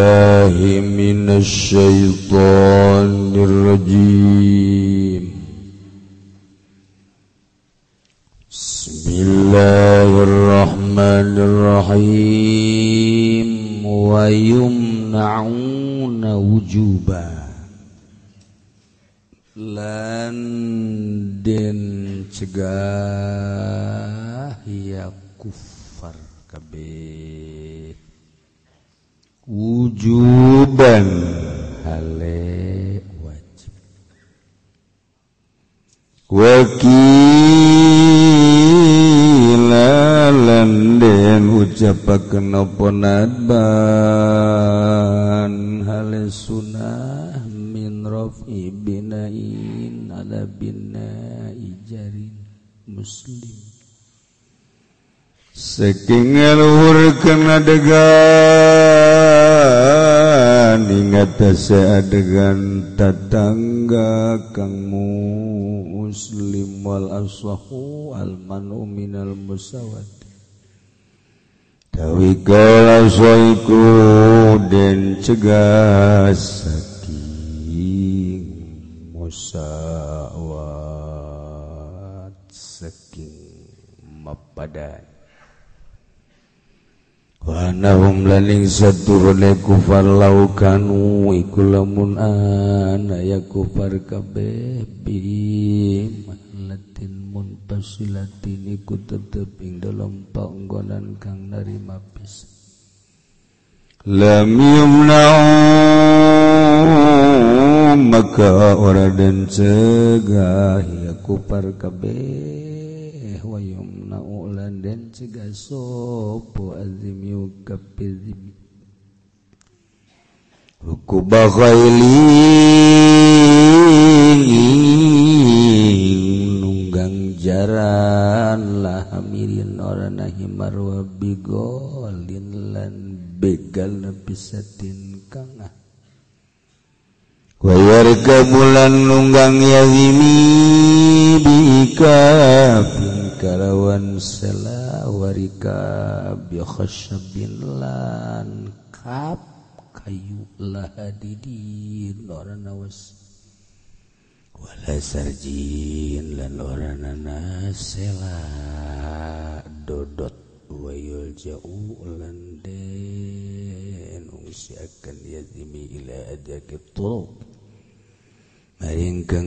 billahi minasyaitonir rajim. Bismillahirrahmanirrahim. Wa yumna'una wujuba lan den cegah ya kufar kabeh wujuban hale wajib wakila lan den ucapaken apa nadban hale sunah min rafi binain ala binai jarin muslim saking ngaluhurkeun adegan ing atase adegan tatangga kang muslim wal aswahu al manu minal musawat tawi kala soiku den cegah saking musawat saking mapadan wa nahum laning saturune kufar laukanu iku lamun ana ya kufar kabeh bim latin munfasilatin iku tetep ing dalam panggonan kang narima pis lam yumna'u maka ora den cegah ya kufar kabeh wa yumna'u lan den cegah sapa azim yukapizim rukuba khailing nunggang jaran lah hamirin orana himar wa bigolin lan begal nabisatin kangah wa yarkabulan nunggang yazimi bikafin kalawan sela warika bi khasyabin lan kap kayu lahadidin orana was wala sarjin lan orana sela dodot wayul ja'u lan den usiakan yazimi ila ajakitul maring kang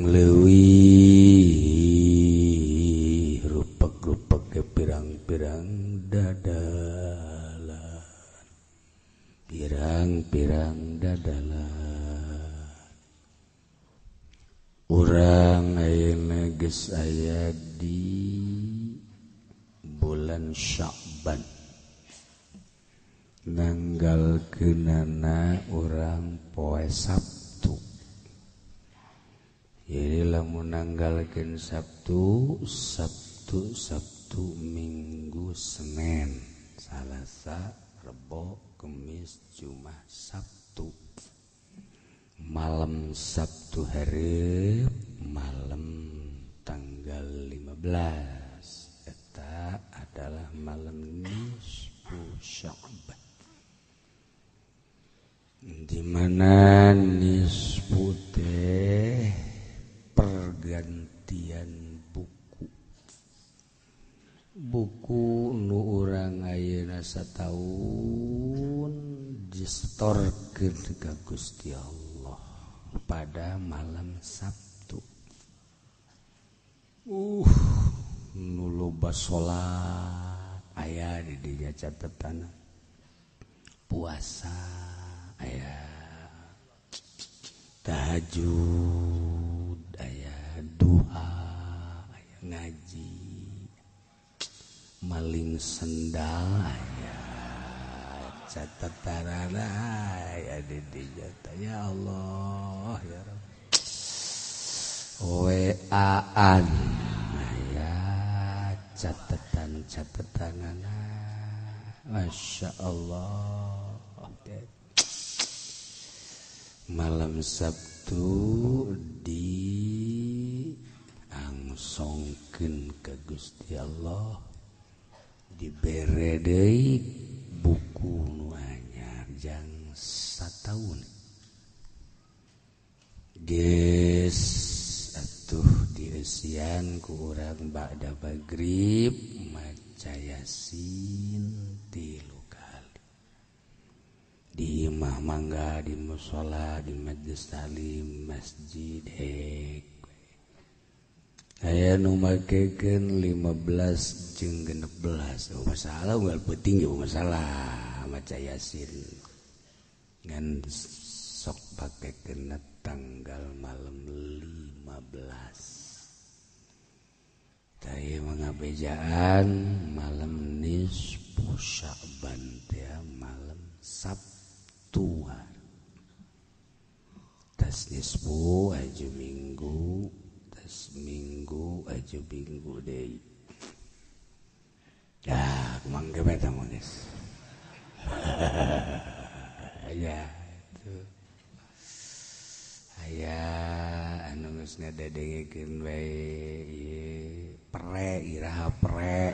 leuwih rupak-rupak ke pirang-pirang dadalan pirang-pirang dadalan urang ayeuna geus aya di bulan Sya'ban nanggalkeunana urang poe Sabtu. Jadi lamun nanggalkeun Sabtu Minggu Senin Salasa Rebo Kemis Jumat Sabtu malam Sabtu hareup malam tanggal 15 eta adalah malam nisfu Sya'ban di mana nisfu teh pergantian buku nu urang ayeuna sataun distorkeun ka Gusti Allah pada malam Sabtu. Nu loba salat aya di dinya catetan puasa aya tahajud aya duha aya ngaji maling sendal aya catatanana aya di dinya ya Allah ya Rabb WA-an aya catatan-catatanana Masya Allah malam Sabtu diangsongkeun ka Gusti Allah dibere deui buku nu anyar jang satahun geus atuh dieusian ku urang ba'da maghrib maca Yasin 3 kali di imah mangga di mushola di majelis taklim masjid aya nu makekeun 15 jeung 16 masalah unggal peuting ge masalah maca Yasin ngan sok pakekeun tanggal malam 15 taya mangabejaan malam nisfu Sya'ban teh malam Sabtu tas nisfu aju minggu tas minggu aju minggu deui ya kumangge eta mah geus ya tuh aya anu geus ngadedengekeun wae ieu pre iraha pre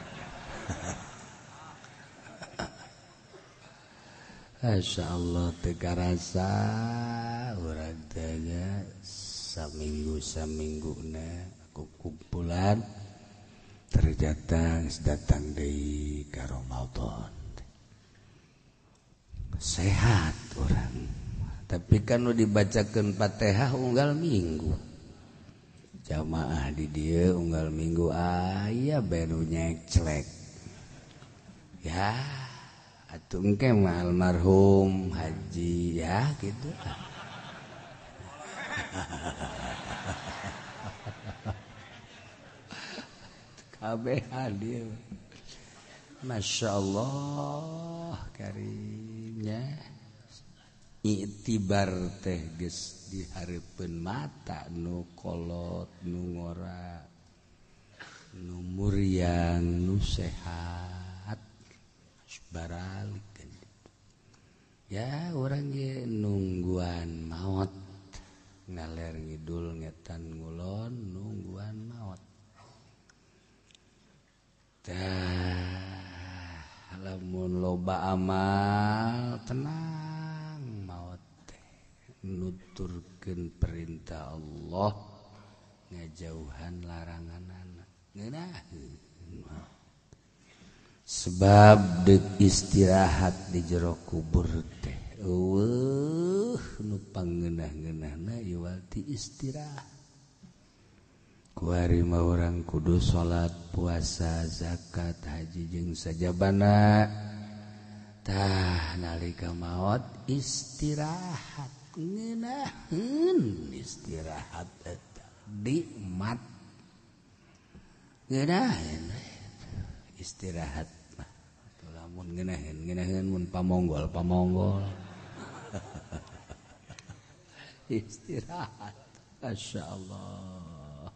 Masyaallah teu karasa urang teh nya saminggu-samingguna aku kumpulan ternyata geus datang deui ka Ramadan sehat urang tapi kan nu dibacakeun Fatihah unggal minggu jamaah di dieu unggal minggu aya bae nu nyeclek ya atuh engke mah almarhum haji ya gitu kabeh hadir Masya Allah karimnya iktibar teh geus dihareupeun mata nu kolot nu ngora nu muriang nu sehat baralikeun ya urang ge nungguan maot ngaler ngidul ngetan ngulon nungguan maot tah lamun loba amal tenang maot teh nuturkeun perintah Allah ngajauhan laranganana ngeunaheun sebab deuk istirahat di jero kubur teh nu pangeunah-ngeunahna ieu walti istirahat kuari mah urang kudu salat puasa zakat haji jeung sajabana tah nalika maot istirahat ngeunaheun istirahat eta nikmat ngeunaheun istirahat mah lamun ngeunaheun mun pamonggol istirahat masyaallah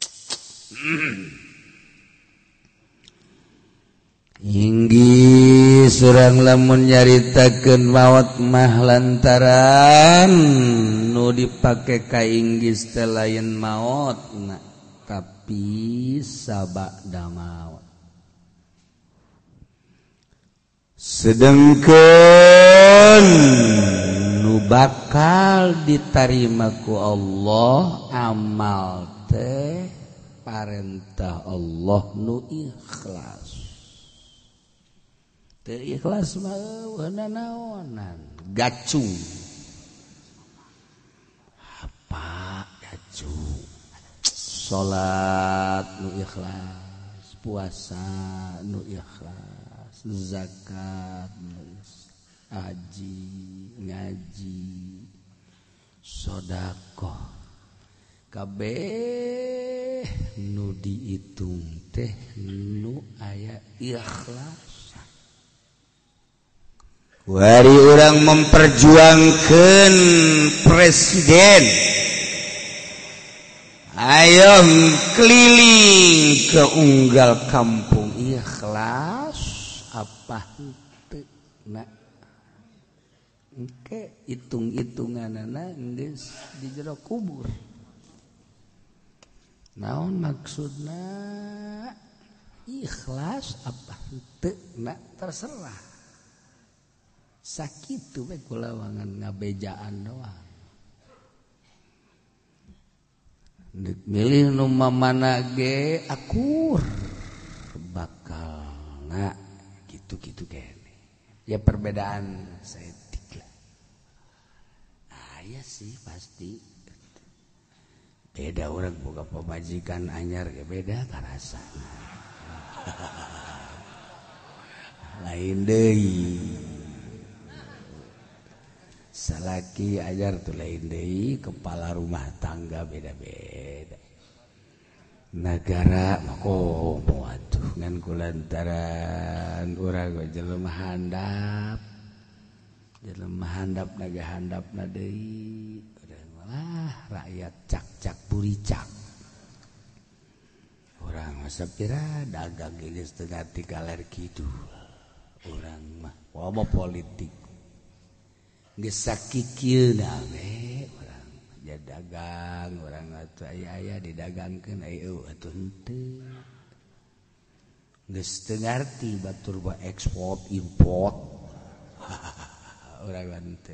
inggih surang lamun nyaritakeun maot mah lantaran nu dipake ka inggis teh lain maot tapi sabada maot sedengkeun nu bakal ditarima ku Allah amal teh parentah Allah nu ikhlas teu ikhlas mah naonan gacung apa gacung salat nu ikhlas puasa nu ikhlas zakat haji ngaji sedekah kabeh nu diitung teh nu aya ikhlas wari urang memperjuangkeun presiden ayo keliling ke unggal kampung ikhlas apa henteu na engke hitung-hitunganana geus di jero kubur naon maksudna ikhlas apa henteu na terserah sakit tuh kulawangan ngabejaan doang milih nu mana ge akur bakal gitu kayaknya ya perbedaan setik lah ya sih pasti beda orang boga pemajikan anyar ge beda karasa lain deui salaki ajar tuh lain deui kepala rumah tangga beda-beda negara mako waduh ngan kulantaran urang jelema handap naga handapna deui urang malah rakyat cak buricak urang mah sapira dagang geus teu ngarti kaler kidul urang mah wama politik geus sakikieuna we urang ja dagang urang atuh aya didagangkeun aya atuh henteu geus teu ngarti batur ba ekspor import urang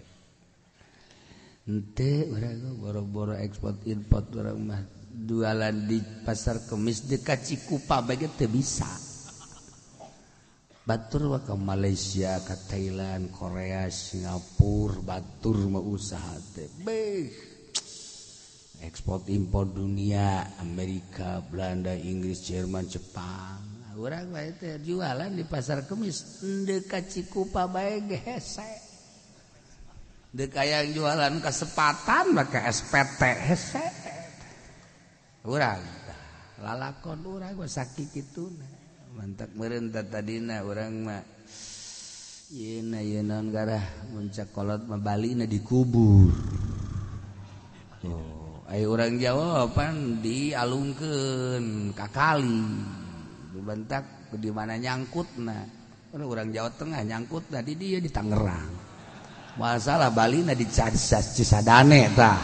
henteu urang boro-boro ekspor import urang mah jualan di pasar Kemis dekat Cikupa bae teu bisa batur wa ke Malaysia ke Thailand Korea Singapura batur mah usaha teh beh ekspor impor dunia Amerika Belanda Inggris Jerman Jepang urang bae teh jualan di pasar Kemis dekat Cikupa bae ge hese deuk aya jualan kesempatan make SPT hese urang lalakon urang gua sakit kituna mantak meureun tadina urang mah yeuna naon garah muncak kolot mah balina dikubur aya urang Jawa pan dialungkeun ka kali dibentak di mana nyangkutna urang Jawa Tengah nyangkutna di dieu di Tangerang masalah balina di Cisadane tah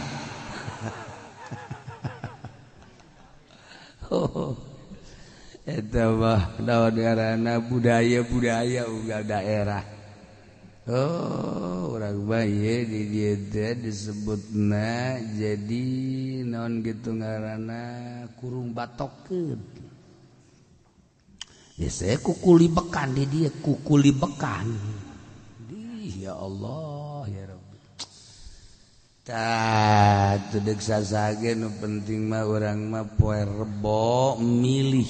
eta mah naon ngaranna budaya unggal daerah urang mah ieu di dieu teh disebutna jadi naon gitu ngaranna kurung batokeun biasanya kukulibekan di dieu kukulibekan ya Allah ya Rabbi tah teu deuk sasage nu penting mah urang mah poe Rebo milih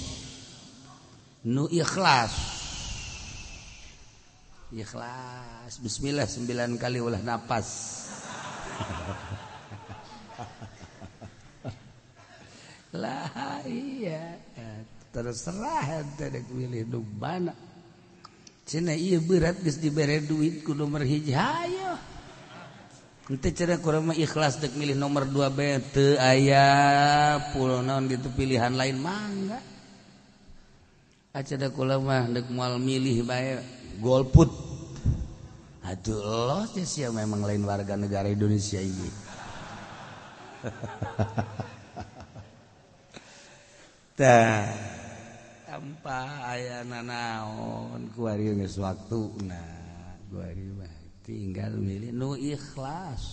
nu ikhlas bismillah 9 kali ulah napas lah iya terserah ente dek milih nu mana cenah ieu berat geus dibere duit ku nomor hiji hayo ente cenah kurang mah ikhlas dek milih nomor 2 bae teu aya puluh naon gitu pilihan lain mangga acara kula mah dek moal milih bae golput aduh Allah sia memang lain warga negara Indonesia ini tah tanpa aya nanaon ku ari geus waktuna ku ari mah tinggal milih nu ikhlas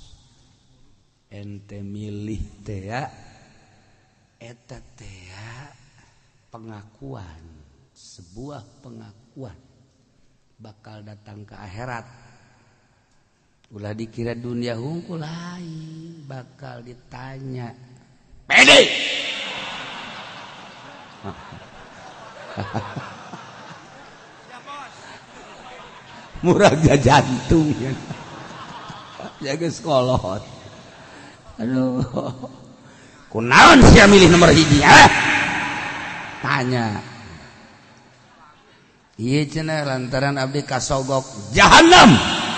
ente milih teh ya eta teh ya pengakuan sebuah pengakuan bakal datang ke akhirat ulah dikira dunia hungkul lain bakal ditanya pede murah jantung ya jaga sekolot aduh kunaon sia milih nomor hiji tanya ieu cenah lantaran abdi kasogok jahanam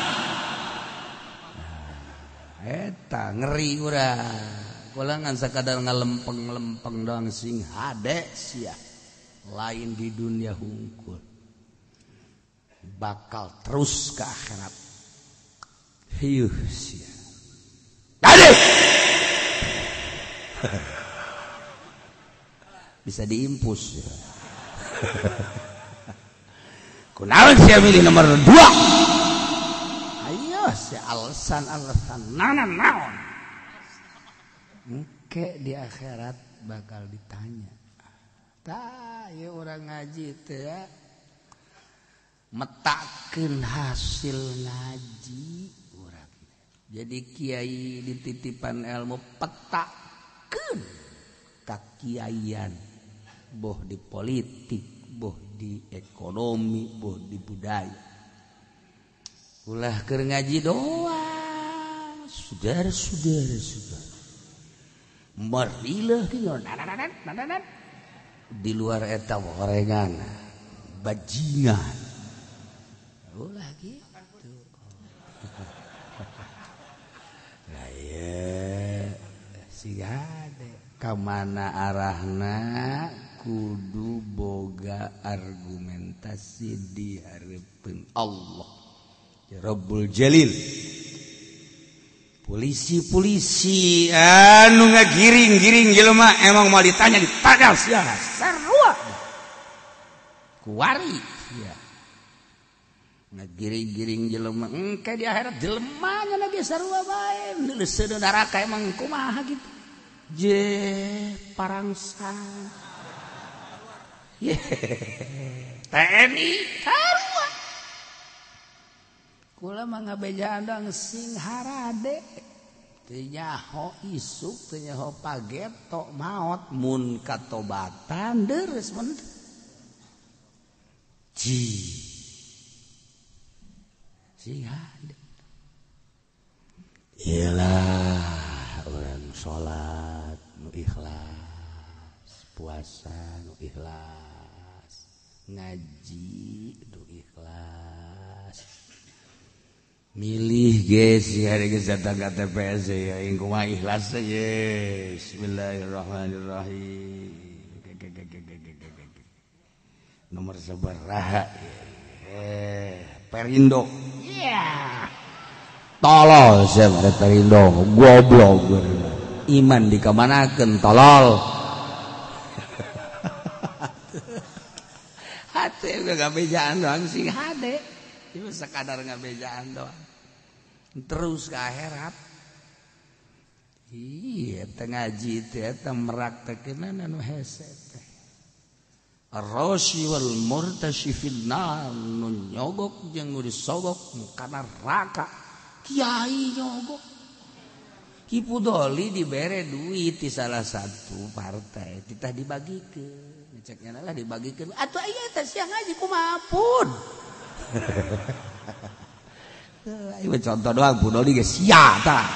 eta ngeri urang kula ngan sakadar ngalempeng-lempeng doang sing hade sia lain di dunia hungkul bakal terus ke akhirat hiuh sia ade bisa diimpus ya. Kunaon sia milih nomor 2 masih alasan naon engke di akhirat bakal ditanya tah ya orang ngaji teh ya metakeun hasil ngaji urang jadi kiai dititipan ilmu petakeun kakiaian boh di politik boh di ekonomi boh di budaya ulah keur ngaji doang saudara-saudara marilah di luar eta gorengan bajingan ulah gitu lah ya si gade kamana arahna kudu boga argumentasi di hareupeun Allah ya Rabbul Jalil polisi anu ngagiring-giring jelema emang mau ditanya sia sarua kuari sia ngagiring-giring jelema engke di akhirat jelemanya lagi sarua bae leuseuh neraka emang kumaha gitu je parangsang TNI sarua kula mah ngabejaan dong sing harade teu nyaho isuk teu nyaho pageto maot mun katobatan deres men sing hade ialah orang salat nu ikhlas puasa nu ikhlas ngaji nu ikhlas milih guys ya ada geus datang ka TPS ya kumaha ikhlas ya bismillahirrahmanirrahim nomor sabaraha Perindo tolol siapa Perindo goblok iman dikamanakeun tolol hate ngabejaan doang sing hade itu sekadar ngabejaan doang terus ke akhirat iya teu ngaji teh eta meraktekeun anu hese teh ar-rashi wal murtashi fil nar nu nyogok jeung nu disogok kana neraka kiai nyogok Kipudoli dibere duit di salah satu partai titah dibagikeun ceknya lah dibagikeun atuh aya teh siang ngaji kumaha pun ayo contoh doang Budoli geus sia tah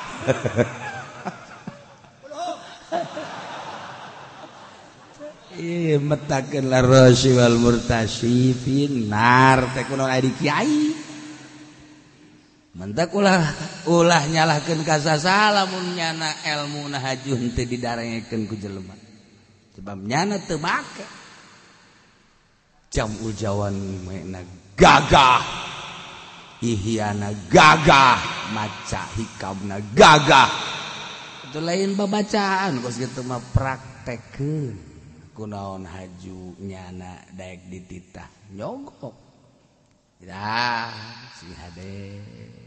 metakeun la rasy wal murtasy finar teh kunaon aya di kiai mentak ulah nyalahkeun ka sasalah mun nyana elmuna hajun teu didarengekeun ku jelema sebab nyana teu make jam ujawan mena gagah ihyana gagah maca hikamna gagah itu lain babacaan kos kitu mah praktekeun kunaon haju nyana daek dititah nyogok dah si hade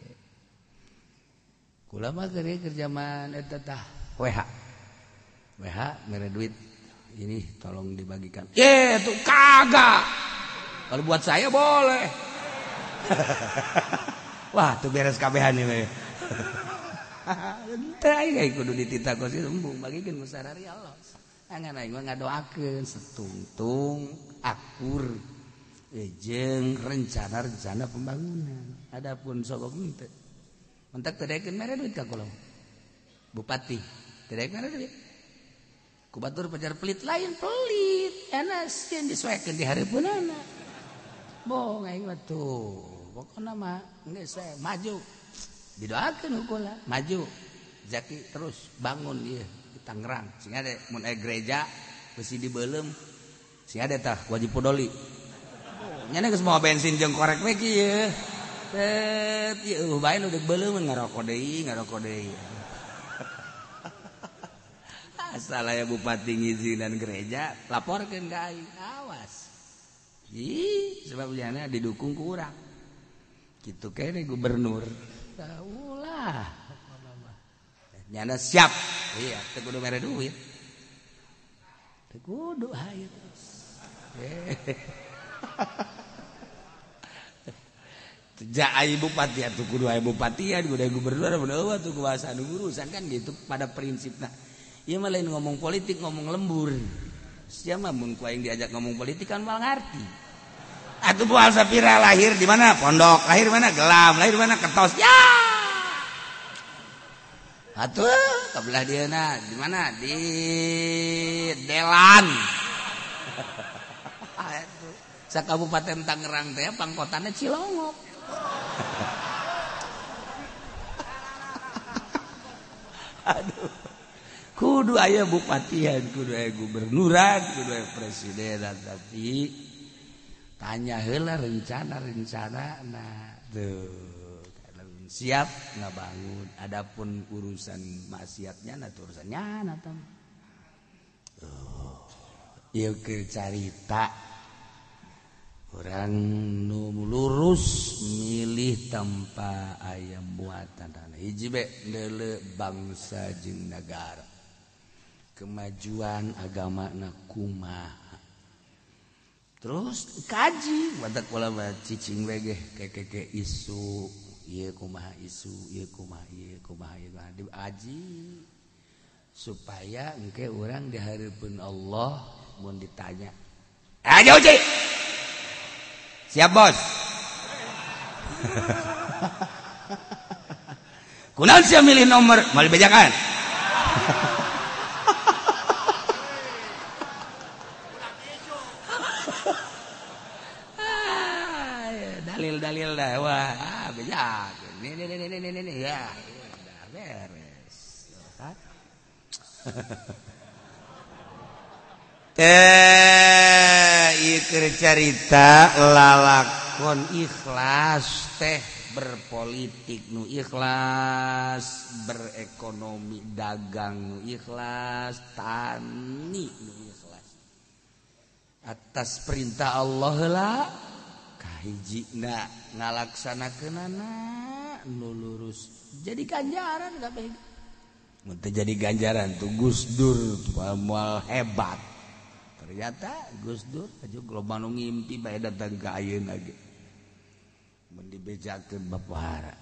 kula mah kerjaman eta tah WH mere duit ini tolong dibagikan tuh kagak kalau buat saya boleh wah tuh beres kabehan ini teh aing kudu dititah kos embung bagikeun musarari Allah angan aing mah ngadoakeun setungtung akur jeung rencana pembangunan adapun sogok henteu mentak teu daekeun mere duit ka kula bupati teu daek mere duit ku batur pajar pelit lain pelit enas yang disesuaikan di hareupeunana bohong aing mah tuh pokona mah geus maju didoakeun hukula maju Zaki terus bangun ieu di Tangerang sing ade mun aya gereja besi dibeuleum sing ade tah wajib Podoli nyana geus moal bensin jeung korek we kieu tet ieu bae nu deuk beuleum ngarokok deui asal aya bupati ngizinan gereja laporkeun ka aing awas sebab nyana didukung ku urang kitu kene gubernur ulah nyana siap iya teu kudu mere duit teu kudu hayu ja ai bupati atuh kudu aya bupatian kudu aya gubernur bener tuh kuasa anu urusan kan gitu pada prinsipna ieu mah lain ngomong politik ngomong lembur sia mah mun ku aing diajak ngomong politik kan mal ngarti atuh Bual Sapira lahir di mana pondok lahir di mana gelam lahir di mana ketos ya atuh kabelah dieuna di mana di Delan sakabupaten Tangerang teh pangkotana Cilongok aduh kudu aya bupatian kudu aya gubernuran kudu aya presidenan tapi tanya heula rencana nah tuh siap ngabangun adapun urusan maksiatnya nah urusannya nah tam ieu keur carita urang nu lurus milih tanpa aya muatan hiji be deuleu bangsa jeung nagara kemajuan agamana kumaha terus kaji badak ulama cicing we ge keke isu ieu kumaha isu ieu kumaha ieu kumaha diaji supaya engke urang di hareupeun Allah mun ditanya aja uji siap bos kunaon sia milih nomor mal bejakan dalil dah wah bejak ini ya udah beres ieu carita lalakon ikhlas teh berpolitik nu ikhlas berekonomi dagang nu ikhlas tani nu ikhlas atas perintah Allah lah kahijina ngalaksanakeunana nu lurus jadi ganjaran kabeh mun teu jadi ganjaran tuh Gus Dur moal hebat ternyata Gus Dur aju loba nu ngimpi bae datang ka ayeuna ge mun dibejakeun babahara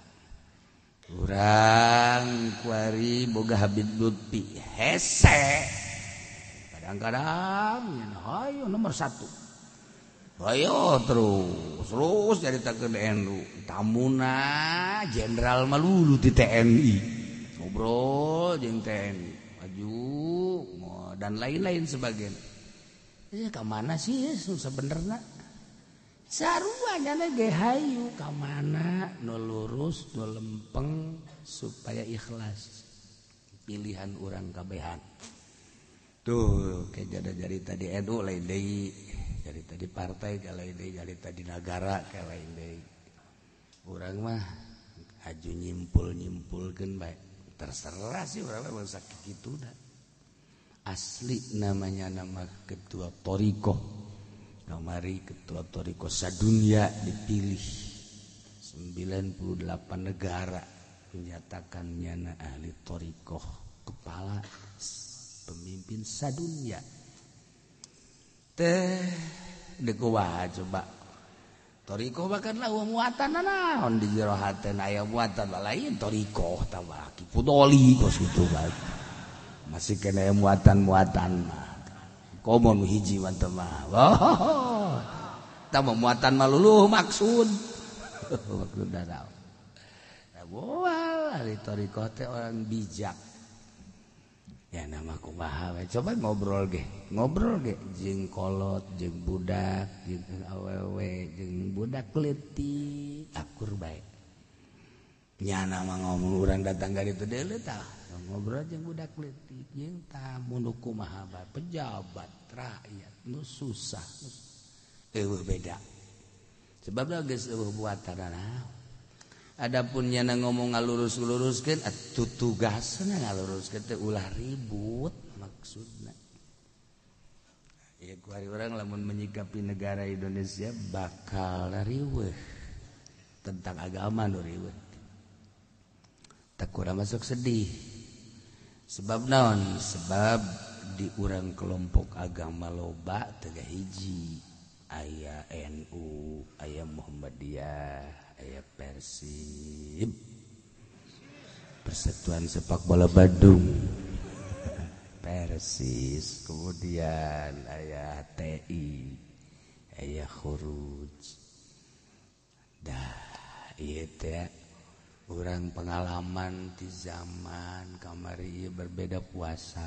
urang kuari boga Habib Lutfi hese kadang-kadang hayu nomor 1 ayo terus nyaritakeun NU tamuna jenderal malulu di TNI ngobrol jeung TNI maju dan lain-lain sebagainya ka mana sih sebenarnya sarua nyana ge hayu ka mana nu lurus nu lempeng supaya ikhlas pilihan urang kabehan tuh kayak jarita di NU lain deui jarita di partai lain deui jarita di negara lain deui urang mah aju nyimpul-nyimpulkeun bae terserah sih urang mah sakituna asli namanya nama ketua Toriko kamari ketua Toriko sadunya dipilih 98 negara menyatakannya na ahli Toriko kepala pemimpin sadunya teh dekuah coba Toriko bahkan lah muatan naon di jero hateun aya muatan lain Toriko tambah kipudoli kos kitu bae masih kena muatan-muatan mah komo hiji mah teh mah tambah muatan mah luluh maksud maksud daraw moal ahli Toriko teh orang bijak ya nama kumaha we coba ngobrol ge jeung kolot jeung budak jeung awewe jeung budak leutik akur bae nya nama ngomong urang datang ka ditu deuleu tah ngobrol jeung budak leutik jeung tamu nu kumaha bae pejabat rakyat nu susah eueuh beda sebabna geus eueuh buatanana adapun nyana ngomong ngalurus-luruskeun atuh tugasna ngaluruskeun teh ulah ribut maksudna. Ya kuari urang lamun menyikapi negara Indonesia bakal riweuh tentang agama nu riweuh. tak kurang masuk sedih. Sebab naon? Sebab di urang kelompok agama loba teu hiji. Aya NU, aya Muhammadiyah, aya Persib, Persatuan Sepak Bola Badung, Persis, kemudian aya TI, aya Khuruj. Dah ieu teh urang pengalaman di zaman kamari ieu berbeda puasa.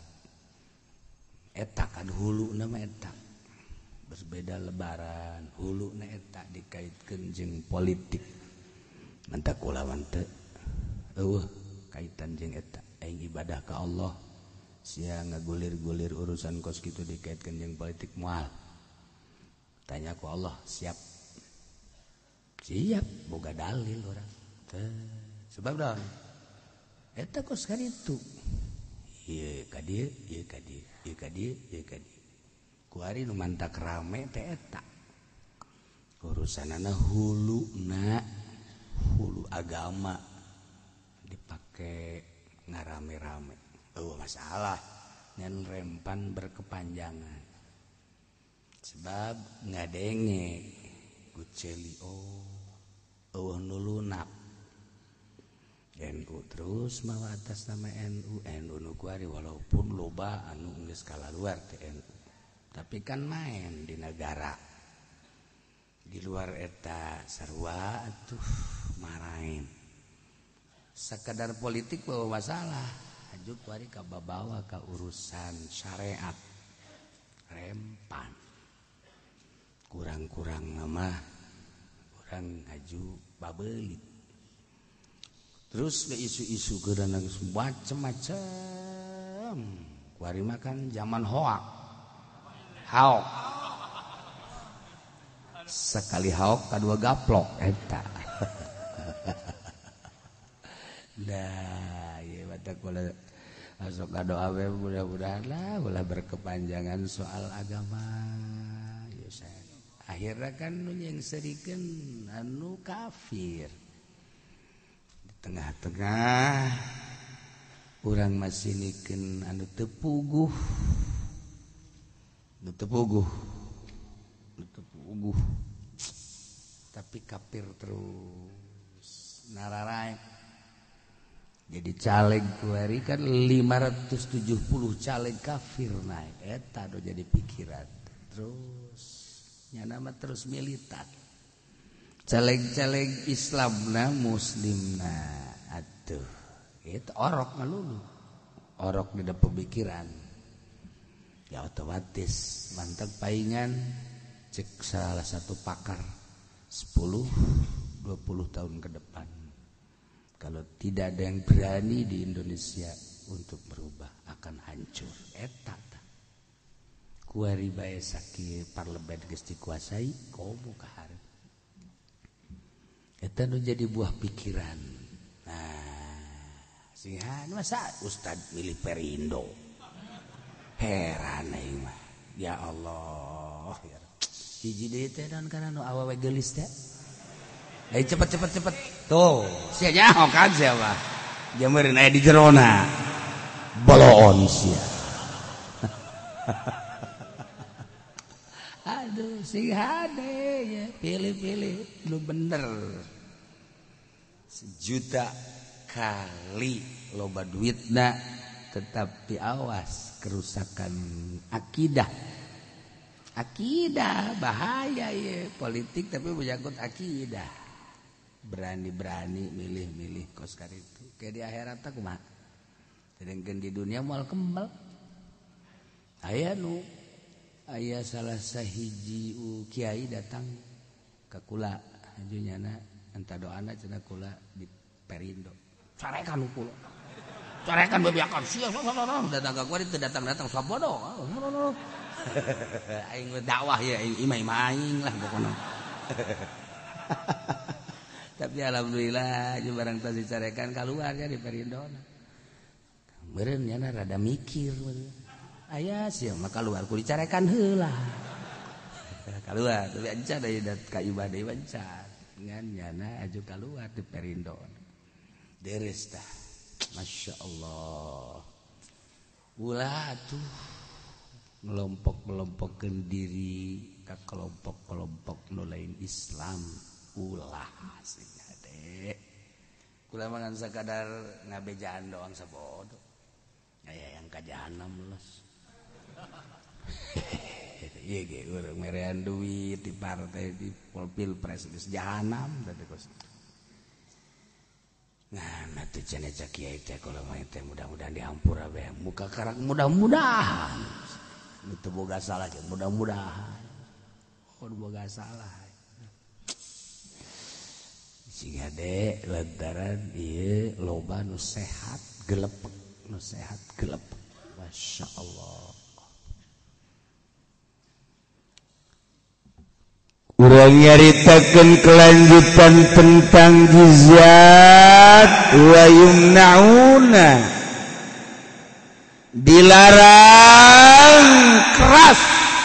Eta kan huluna mah eta. Berbeda lebaran, huluna eta dikaitkeun jeung politik. Mantak kulawan teu eueuh kaitan jeung eta. Aing ibadah ka Allah. Sia ngagulir-gulir urusan kos kitu dikaitkeun jeung politik moal. Tanya ku Allah, siap. Siap, boga dalil urang. Sebab daun eta kos kaditu. Ieu ka dieu, ieu ka dieu, ieu ka dieu, ieu ka dieu. Ku ari nu mantak rame teh eta. Urusanana hulu agama dipake ngarame-rame. Masalah ngan rempan berkepanjangan. Sebab ngadenge guceli nu lunak. NU terus mawa atas nama NU nu kuari walaupun loba anu geus kalaluar teh NU. Tapi kan main di negara. Di luar eta sarua atuh marahin. Sekadar politik bawa masalah. Hajuk kuari ka babawa ka urusan syariat. Rempan. Kurang-kurang mah urang haju babeuli. Terus ke isu-isu geurang macam-macam. Kuari makan zaman hoak. Haok. Sekali haok kadua gaplok eta. Nah, ieu batak kula masuk ka doa we mudah-mudahan lah ulah berkepanjangan soal agama. Ya akhirnya kan nu nyengserikeun anu kafir. Di tengah-tengah urang masih nikeun anu teu puguh. Tapi kafir terus nararaek. Jadi caleg kuari kan 570 caleg kafir naik. Eta do jadi pikiran. Terus nyana mah terus militan. Caleg-caleg Islamna muslimna atuh. Itu orok ngalulu. Orok di pemikiran. Ya otomatis mantap paingan cek salah satu pakar 10-20 tahun ke depan kalau tidak ada yang berani di Indonesia untuk berubah akan hancur eta kuari bae sakit parlemen geus dikuasai komo kahar eta nu jadi buah pikiran. Nah sihan masa Ustad milih Perindo. Heran aing mah. Ya Allah. Hiji deui teh naon kana nu awewe geulis teh. Ayo cepet. Tuh, sia nyaho kan sia mah. Jameureun aya di jerona. Boloon sia. Aduh, sing hade ya, pilih-pilih nu bener. 1 juta kali loba duitna tetapi awas kerusakan akidah bahaya ya politik tapi menyangkut akidah berani-berani milih-milih kos karitu kayak di akhirat tak kumaha sedangkan di dunia moal kembal aya salah sahiji kiai datang ka kula hajunyana enta doana cenah kula di Perindo carekan kula corekan bebiakan sia datang ka kuari teu datang sabodo aing dakwah ya imai aing lah pokona tapi alhamdulillah jeung barang teu dicarekan kaluar ya di Perindona meureun nya rada mikir aya sia mah kaluar ku dicarekan heula kaluar tapi ancan aya ka ibadah wancan ngan nyana aju kaluar di Perindona Deres dah. Masya Allah. Ulah tuh ngelompok-ngelompokkeun diri ka kelompok-kelompok nu lain Islam. Ulah aslinya dek. Kula mangan sakadar ngabejaan doang sabodo. Aya yang ka jahanam lulus. Ieu ge urang merean duit di partai di Pilpres geus jahanam tadi kos. Nah, tuh cenah cak kiai teh kalau main teh mudah-mudahan dihampura bae. Muka karak mudah-mudahan. Itu boga salah jeung mudah-mudahan. Oh, boga salah. Siga de lantaran ieu loba nu sehat gelepek, nu sehat gelepek. Masyaallah. Urang nyaritakeun kelanjutan tentang jizat wa yumnauna, dilarang keras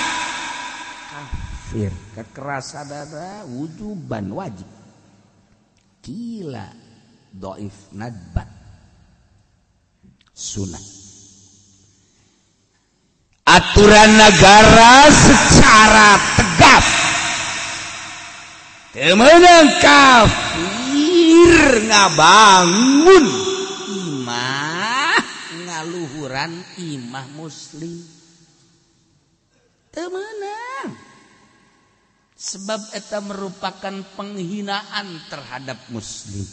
kafir. Kekerasan ada wujuban wajib, kila dhaif nadbat sunat. Aturan negara secara tegas temenang kafir ngabangun imah ngaluhuran imah muslim temenang sebab eta merupakan penghinaan terhadap muslim.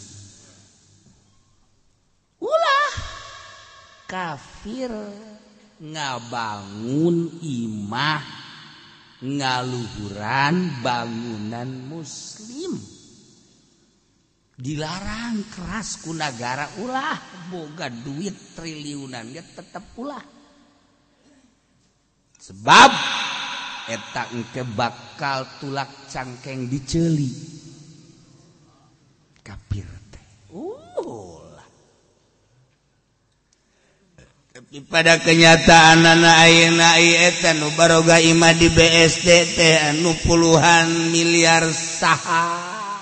Ulah kafir ngabangun imah ngaluhuran bangunan muslim dilarang keras ku nagara. Ulah boga duit triliunan ge tetep ulah sebab eta engke bakal tulak cangkeng diceuli kafir teh. Tapi pada kenyataan anak ayeuna eta nu baroga imah di BSD teh anu puluhan miliar saha.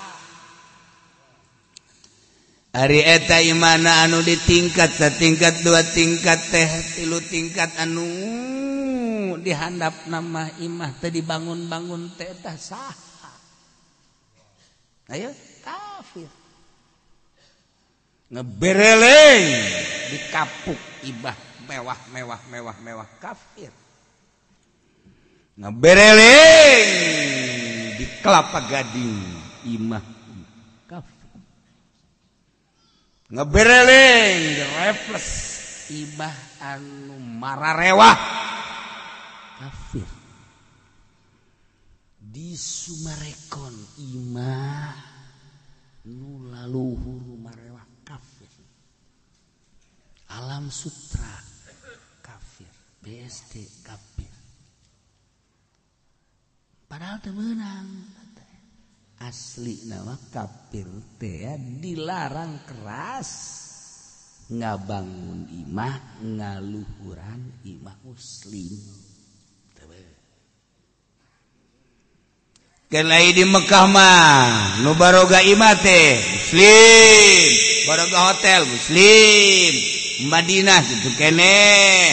Ari eta imana anu di tingkat satingkat dua tingkat teh tilu tingkat anu dihandap nama imah teh dibangun-bangun teh eta saha. Ayo kafir. Ngebereleng di kapuk ibah mewah kafir. Ngebereleng di Kelapa Gading imah kafir. Ngebereleng di Refles ibah anu mararewah kafir. Di Sumarekon imah nu laluhur marewah kafir. Alam Sutra kafir, BSD kafir. Padahal teu meunang asli nama kafir teh dilarang keras ngabangun imah ngaluhuran imah muslim. Kelai di Mekah mah nu baroga imah teh muslim, baroga hotel muslim. Madinah itu kene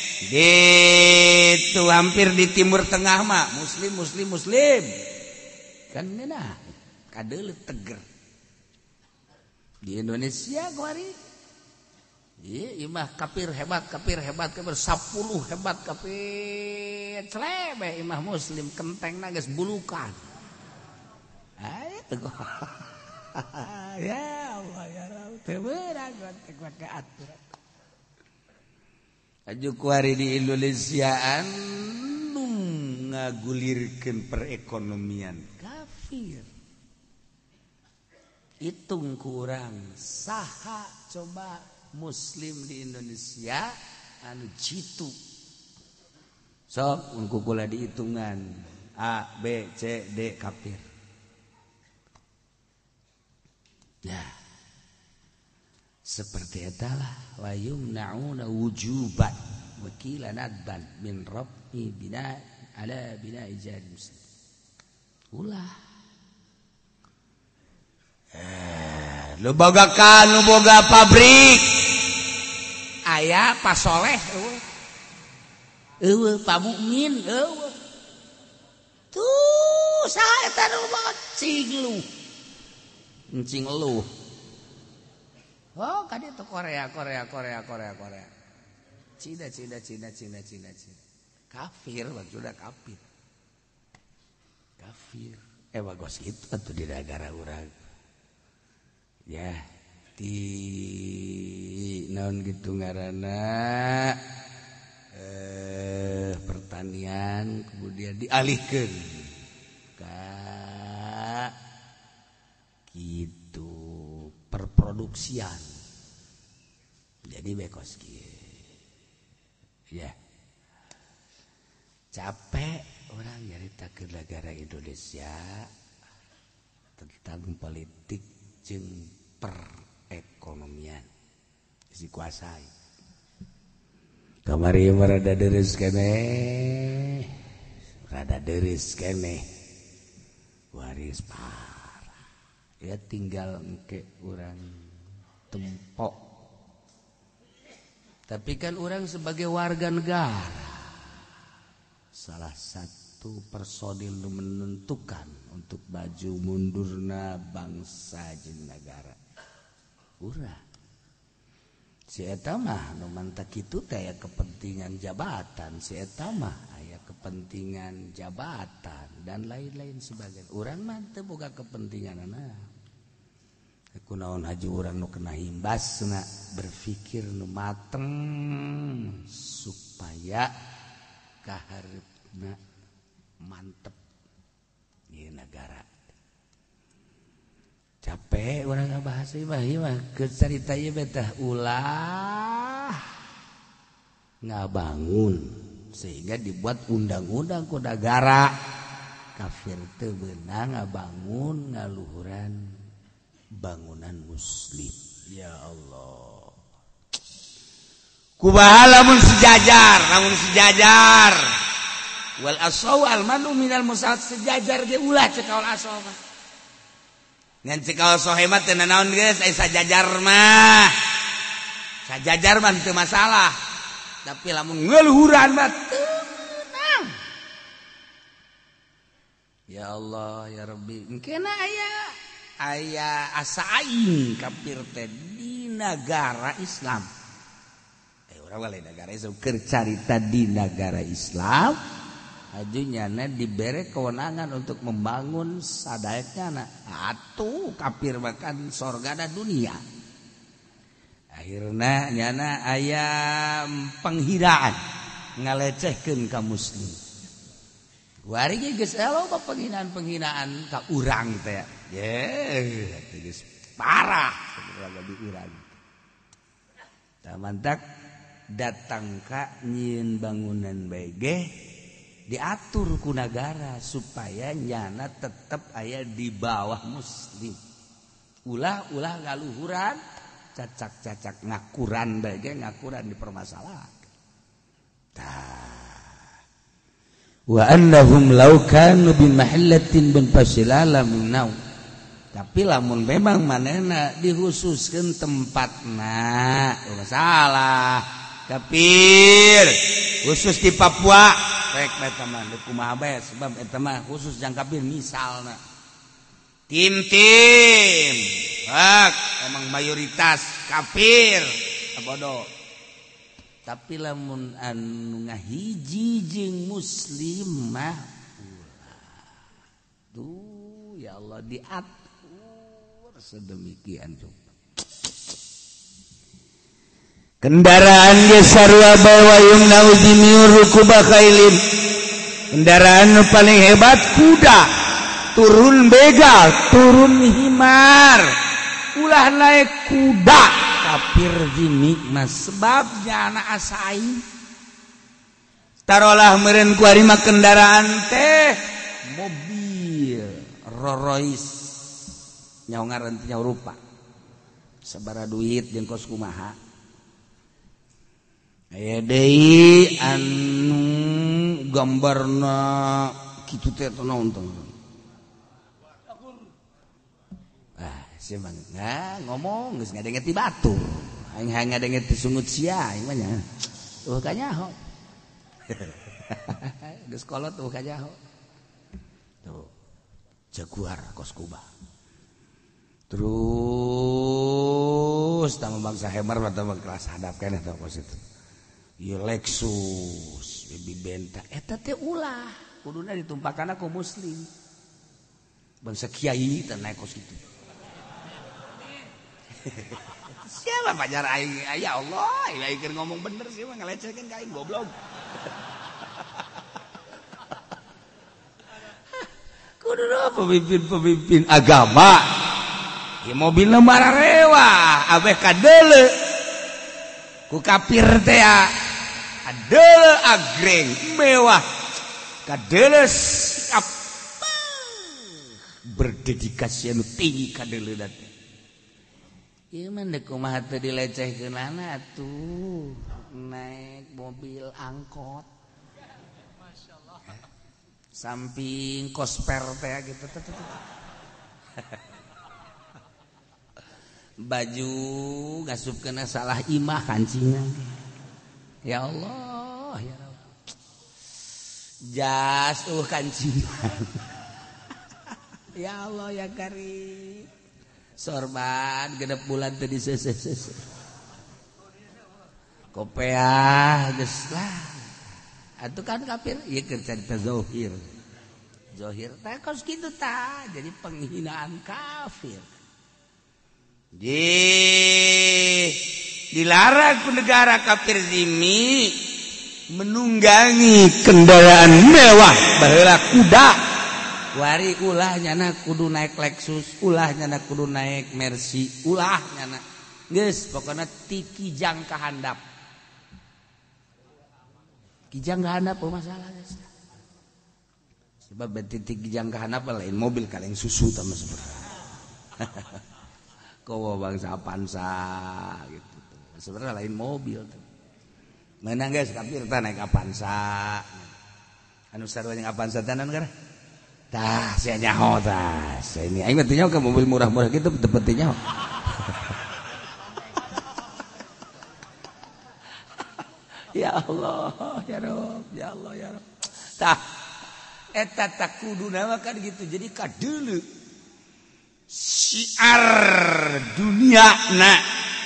itu hampir di Timur Tengah mah muslim kan nena kadeuleut teger. Di Indonesia kemari ieu imah kafir hebat 10 hebat kafir celebe imah muslim kentengna geus bulukan. Itu ya Allah ya Rabb teu beurang gontek aturan. Aju kuari di Indonesia anu ngagulirkeun perekonomian kafir. Hitung kurang saha coba muslim di Indonesia anu jitu. Sok ungku kula dihitungan A, B, C, D kafir. Nah, seperti itulah wa yumna'una wujuban wakilan adban min rabbi bina ala bina ijad muslim. Ulah lu boga pabrik aya Pak Soleh Pak Mukmin tuh saha eta nu cing lu oh kadieu tuh Korea Cina kafir maksudnya kafir bagos gitu atuh di negara urang ya di naon gitu ngaranna pertanian kemudian dialihkeun ka gitu perproduksian jadi bekos kieu ya capek orang nyaritakeun negara Indonesia tentang politik jeung perekonomian dikuasai kamari rada deres keneh waris parah ya tinggal engke urang tempok tapi kan orang sebagai warga negara salah satu personil nu menentukan untuk baju mundurna bangsa jeung negara urang si eta mah nu manta kitu teh aya kepentingan jabatan si eta mah aya kepentingan jabatan dan lain-lain sebagainya urang mah teu boga kepentinganna kunaon haji urang nu kena imbasna berpikir nu mateng supaya kaharepna mantep ieu negara capek orang ngabahas ieu mah keur carita ieu betah ulah ngabangun sehingga dibuat undang-undang ku negara kafir teu beunang ngabangun ngaluhuran bangunan muslim ya Allah kumaha lamun sejajar wal asau al manu minal musad sejajar ge ulah cekaul asau mah ngan cekaul sohemat teu naon geus aya sajajar mah teu masalah tapi lamun ngeluhuran mah tenang ya Allah ya Rabbi engkeuna aya asa aing kafir teh di negara Islam urang lain negara Islam keur carita di negara Islam ajunyana dibere kewenangan untuk membangun sadaekna atuh kafir makan sorgana dunia akhirna nyana aya penghiraan ngalecehkeun ka muslim wari ge geus loba penghinaan ka urang teh ye geus parah saudara di urang tamantak datang ka nyieun bangunan BG diatur ku negara supaya nyana tetap aya di bawah muslim ulah ngaluhuran cacak ngakuran BG ngakuran dipermasalahan wa annahum law kanu bi mahallatin bin fasilala minau tapi lamun memang manehna dihususkeun tempatna masalah kafir khusus di Papua rek eta mah deuk kumaha bae sebab eta mah khusus jang kafir misalna tim emang mayoritas kafir bodoh tapi lamun anu ngahiji jeung muslim mah tuh ya Allah diatur sedemikian rupa kendaraan ge sarua bawa yumna uzimiur rukuba khailin kendaraan nu paling hebat kuda turun begal turun himar ulah naik kuda kafir jimik mas sebabnya anak asain tarolah meureun ku ari mah kendaraan teh mobil Rolls Royce nyaho ngaran teh nyaho rupa sabaraha duit jeung kos kumaha aya deui anu gambarna kitu teh naon teh Siapa ngomong geus ngadenget ti batur. Aing ngadenget ti sungut sia aing mah nya. Kanyaho. Geus kolot tuh kanyaho. Tuh. Jaguar kos kuba. Terus tamu bangsa Hemer atau kelas hadap kan atau kos itu. Ieu Lexus, baby Benta, eta teh ulah, kuduna ditumpahkan aku muslim. Bangsa kiai teh naik kos itu. Siapa pajar aing? Ya Allah, aing keur ngomong bener sih mah ngalecehkeun ka aing goblok. Kuduna pemimpin agama. Ya mobilna mararewah, abeh kadeule. Ku kafir teh adeule agreng mewah. Kadeule siap berdedikasi anu tinggi kadeule teh. Ieu mah deuk kumaha teu dilecehkeunana atuh. Naik mobil angkot. Masyaallah. Samping kosper teh gitu. Baju ngasup kena salah imah kancingan. Ya Allah, ya Rabb. Jas kancingan. Ya Allah ya Karim. Sorban genep bulan teh disese-sese. Kopiah geus lah. Atuh kan kafir, ieu keur carita zahir. Zahir teh kos kitu tah, jadi penghinaan kafir. Dilarang ku negara kafir zimmi menunggangi kendaraan mewah baheula kuda. Wari ulah nyana kudu naik Lexus, ulah nyana kudu naik Mercy, ulah nyana. Geus pokona ti kijang ka handap. Kijang ka handap masalah geus. Sebab beti ti kijang ka handap lain mobil kaleng susu tah mah sebenarnya. Kowo bangsa Avanza gitu. Sebenarnya lain mobil tuh. Menang guys kafir teh naik Avanza. Anu sarua jeung Avanza teh naon gara? Tah sia nyaho tah. Ini aing mah teh nyaho ke mobil murah-murah gitu teu penting nyaho. Ya Allah, ya Rabb, ya Allah, ya Rabb. Tah eta tak kuduna mah kan gitu. Jadi kadeuleu syiar dunia na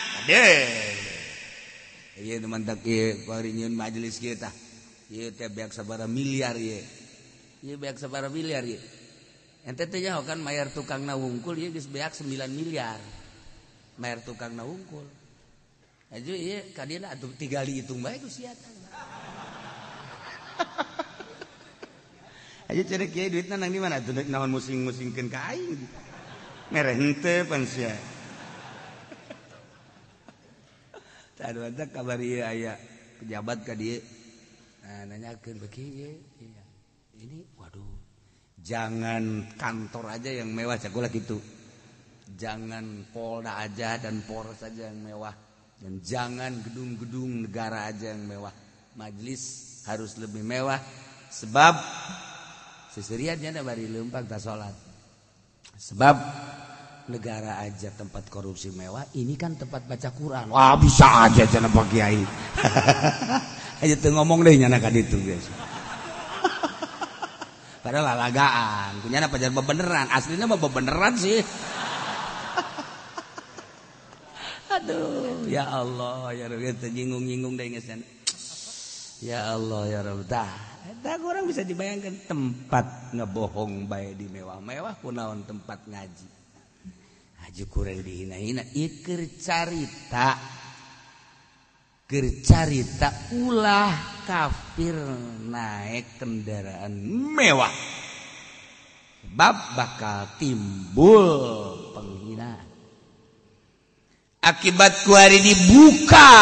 ieu mantak ieu paringeun majelis kieu tah ieu teh beak sabaraha miliar ieu beak sabaraha miliar ieu ente teh nyaho kan mayar tukangna wungkul ieu geus beak 9 miliar mayar tukangna wungkul aju ieu kadieuna atuh tigali hitung bae ku sia tah aju cenah kieu duitna nang di mana atuh naon musing-musingkeun ka aing mereh henteu pan sia. Tadu eta kabar ieu aya pejabat ka dieu. Nah nanyakeun beki ieu. Ini waduh. Jangan kantor aja yang mewah cakulah gitu. Jangan Polda aja dan Polres aja yang mewah dan jangan gedung-gedung negara aja yang mewah. Majelis harus lebih mewah sebab seseriannya ada bari leumpang ta salat. Sebab negara aja tempat korupsi mewah, ini kan tempat baca Quran. Wah bisa aja cenah Pak Kiai. Aja teu ngomong deui nyana ka ditu guys. Padahal lalagaan, kunyana pajar bebeneran, aslinya mah bebeneran sih. Aduh, ya Allah, ya Rabbi teu nyinggung-nyinggung deui geus. Ya Allah, ya Rabbi. Tah orang bisa dibayangkan tempat ngebohong bae di mewah-mewah kunaon tempat ngaji. Aju kurang dihina-hina ieu keur carita ulah kafir naik kendaraan mewah. Sebab bakal timbul penghinaan. Akibat kuari dibuka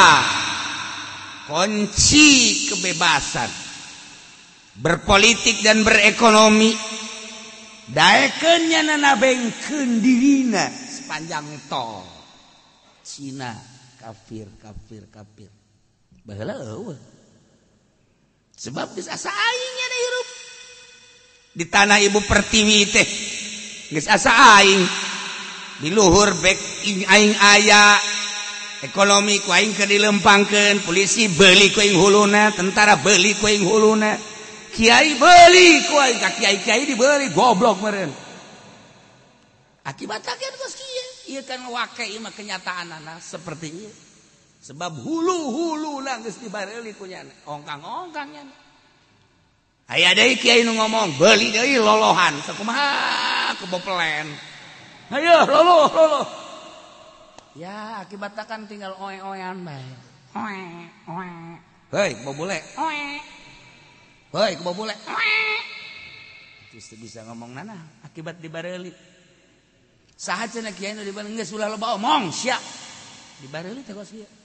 kunci kebebasan berpolitik dan berekonomi daekeun nyanana bengkeun dirina sepanjang tol Cina kafir baheula eueuh sebab geus asa aing nya hirup di tanah Ibu Pertiwi teh geus asa aing di luhur bek aing aya ekonomi ku aing keur dilempangkeun polisi beuli ku aing huluna tentara beuli ku aing huluna kiai beuli ku aing kiai dibeli goblok meureun akibatna geus kieu ieu kan wake ieu mah kenyataanna seperti ieu sebab hulu-huluna geus dibareuli ku nya ongkang-ongkang nya aya deui kiai nu ngomong beuli deui lolohan sakumaha keboplen ayo loloh ya akibatnya kan tinggal oe-oean bae oe hei kebobule hei kebobule terus bisa ngomong nana akibat dibareuli saha cenah kiai nu dibareuli geus ulah loba omong sia dibareuli teh kos kieu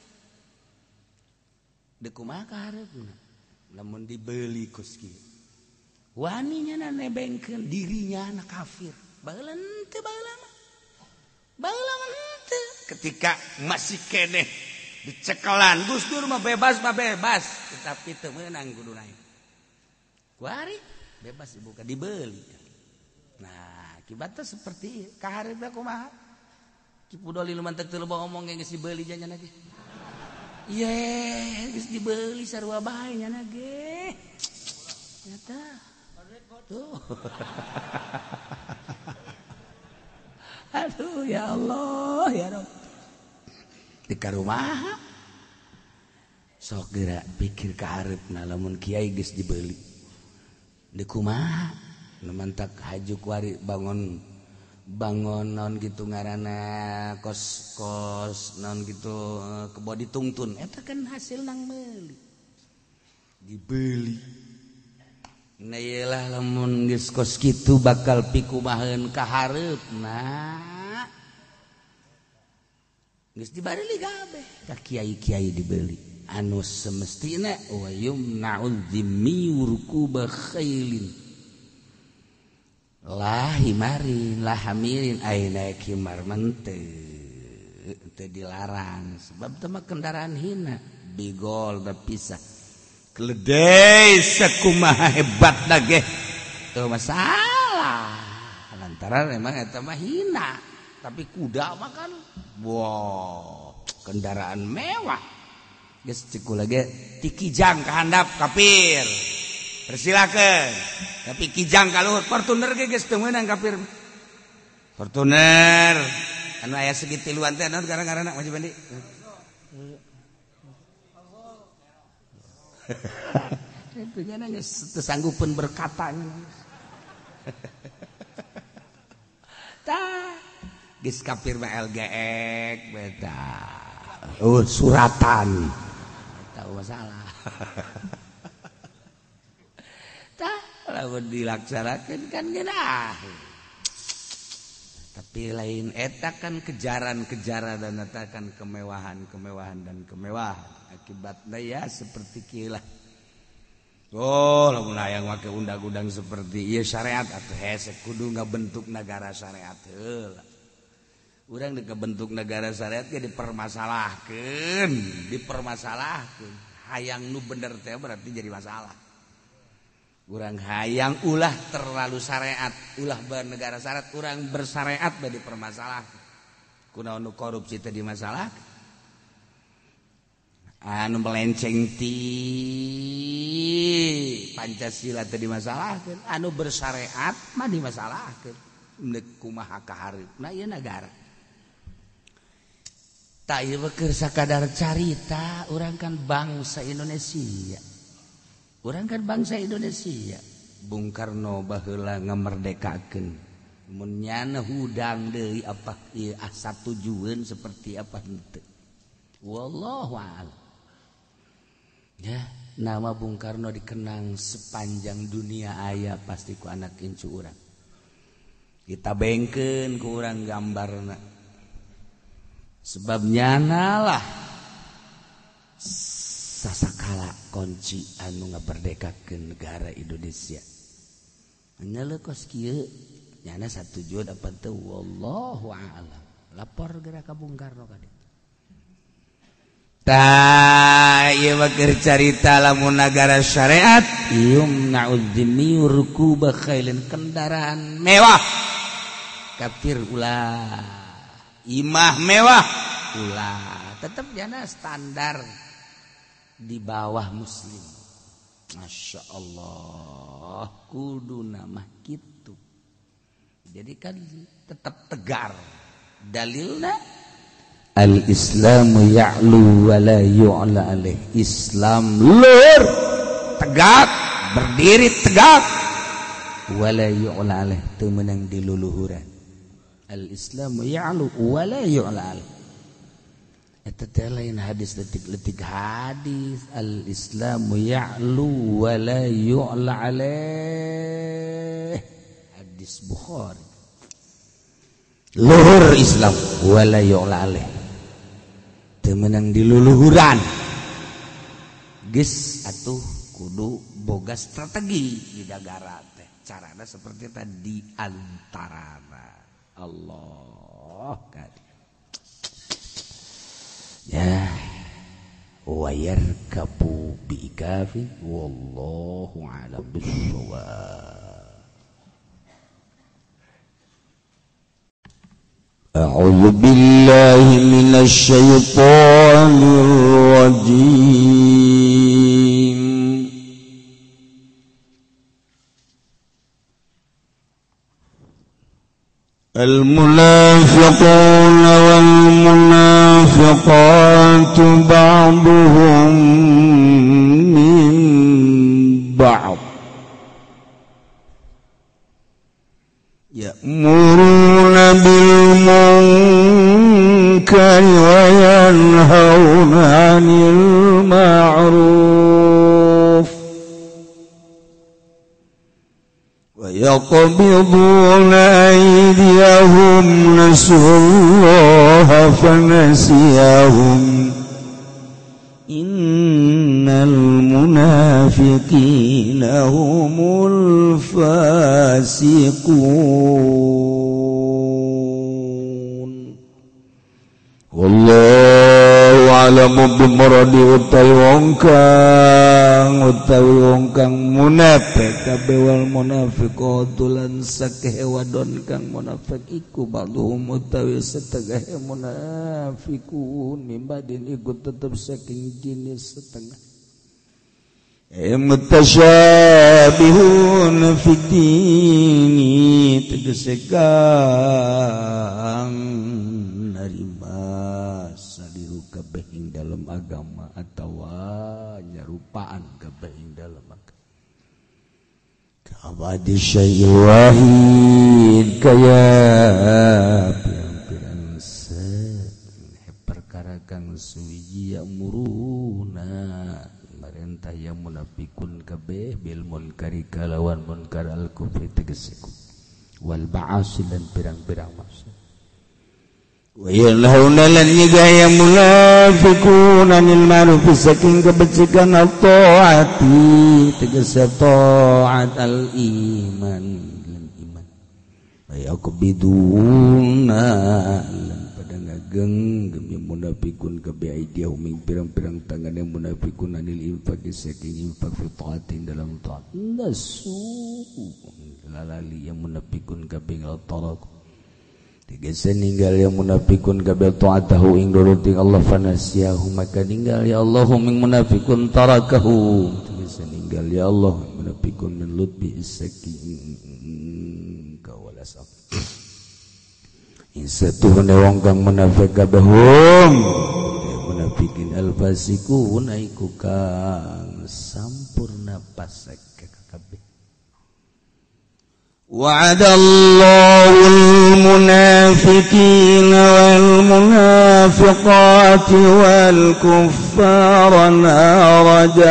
deuk kumaha kahareupna lamun dibeuli kos kieu wani nya nebengkeun dirinya na kafir baheula teu baheula mah baheula mah teu ketika masih keneh dicekelan Gus Dur mah bebas tetapi teu meunang kudu naik kuari bebas dibuka dibeuli nah akibatnya seperti ieu kahareupna kumaha Kipu Doli lumantek teu loba omong geus dibeuli janjana ge iye geus dibeuli sarua bae nya ge nyata tuh aduh ya Allah ya Rabb di karumaha sok geura pikir ka hareupna lamun kiai geus dibeuli di kumaha nu mantak haju kuari bangun naon gitu ngaranna kos naon gitu kebo ditungtun eta kan hasil nang meuli dibeuli nah iyalah lamun geus kos kitu bakal pikumaheun ka hareupna geus dibareuli kabeh ka kiai-kiai dibeuli anu semestina wa yumna'ul dhimmi rukuba khailin lah himarin lah hamirin aina kimar mente teu dilarang sebab teh mah kendaraan hina bigol da pisah keledai sakumaha hebatna ge teu masalah lantaran emang eta mah hina tapi kuda mah kan wow kendaraan mewah geus cikula ge ti kijang ka handap kafir persilakeun tapi kijang ka luhur Fortuner ge geus teu meunang kafir Fortuner anu aya segitiluan teh naon gara-garana Mas Bandi itu nya geus teu sanggupeun berkatanya tah geus kafir mah LGX beda suratan tahu masalah tah lamun dilaksanakeun kan geunah tapi lain eta kan kejaran dan eta kan kemewahan dan kemewahan akibatna ya seperti kieu lah oh lamun hayang make undang-undang seperti ieu syariat atuh hese kudu ngabentuk negara syariat heula urang di kebentuk negara syariat ge dipermasalahkeun hayang nu bener teh berarti jadi masalah urang hayang ulah terlalu syariat ulah bernegara syariat urang bersyariat bae dipermasalahkeun kunaon nu korupsi teh dimasalahkeun anu melenceng ti Pancasila teh dimasalahkeun anu bersyariat mah dimasalahkeun neuk kumaha kahareupna ieu negara tak ieu keur sakadar carita urang kan bangsa Indonesia Bung Karno baheula ngamerdekakeun mun nyana hudang deui apa ieu asa tujuan seperti apa henteu wallahu a'lam ya nama Bung Karno dikenang sepanjang dunia aya pasti ku anak incu urang kita bengkeun ku urang gambarna sebab nyana lah sasakala kunci anu ngaberdekakeun negara Indonesia nya leukos kieu nyana satujuan apa teu wallahu a'lam lapor geura ka Bung Karno ka ditu tah ieu mah keur carita lamun negara syariat yumna'ud dhimmi rukuba khailin kendaraan mewah kafir ulah imah mewah ulah tetap jana standar di bawah muslim. Masya Allah kudu nama gitu. Jadi kan tetap tegar dalilna al-islamu ya'lu wa la yu'la alaih. Islam luhur tegak berdiri tegak wa la yu'la alaih teu meunang diluluhuran. Al-islamu ya'lu wa la yu'la alaih. Eta teh lain hadis letik-letik hadis. Al-islamu ya'lu wa la yu'la alaih. Hadis Bukhari. Luhur Islam wa la yu'la alaih. Teu meunang diluluhuran. Geus atuh kudu boga strategi di negara teh. Carana seperti tadi antarana Allah kadi. Ya wayar kapu biikafi wallahu a'lam bissawab. A'udzu billahi minasy syaithanir rajim. المنافقون والمنافقات بعضهم من بعض يأمرون بالمنكر وينهون عن المعروف ويقبضون أيديهم نسوا الله فنسيهم إن المنافقين هم الفاسقون والله أعلم بمراد utawi wong kang munafik kabeh wal munafiqatu lan sakeh wadon kang munafik iku ba'dhum utawi setengah munafiqun mimbadin iku tetep saking jenis setengah mutasyabihun fid dini tegese kang narima sadiru kabeh ing dalam agama atawa nyarupaan kabeh ing dalam agama kabadi syai'il wahid kaya pirang-pirang perkara kang suwiji ya'muruna marentah yang munafikun kabeh bil munkari kalawan munkar al kufri tegese wal ba'asil dan pirang-pirang maksud wa yanhauna lan nyegaya munafiqun anil ma'ruf saking kebajikan at-taati tegese taat al-iman lan iman wa yaqbiduna lan pada ngageng yang munafiqun kabeh aidiyahum ing pirang-pirang tangan yang munafiqun anil infaq saking infaq fi taatin dalam taat nasu lalali yang munafiqun kabeh al-talaq tegese ninggal yang munafikun kabeh taatahu ing nuruti Allah fanasiyahu maka ninggal ya Allah ing munafikun tarakahu tegese ninggal ya Allah munafikun min lutbi saking kawalasam insatuhune wong kang munafik kabeh munafikin alfasiqun aiku kang sampurna pasek kabeh. وعد الله المنافقين والمنافقات والكفار نار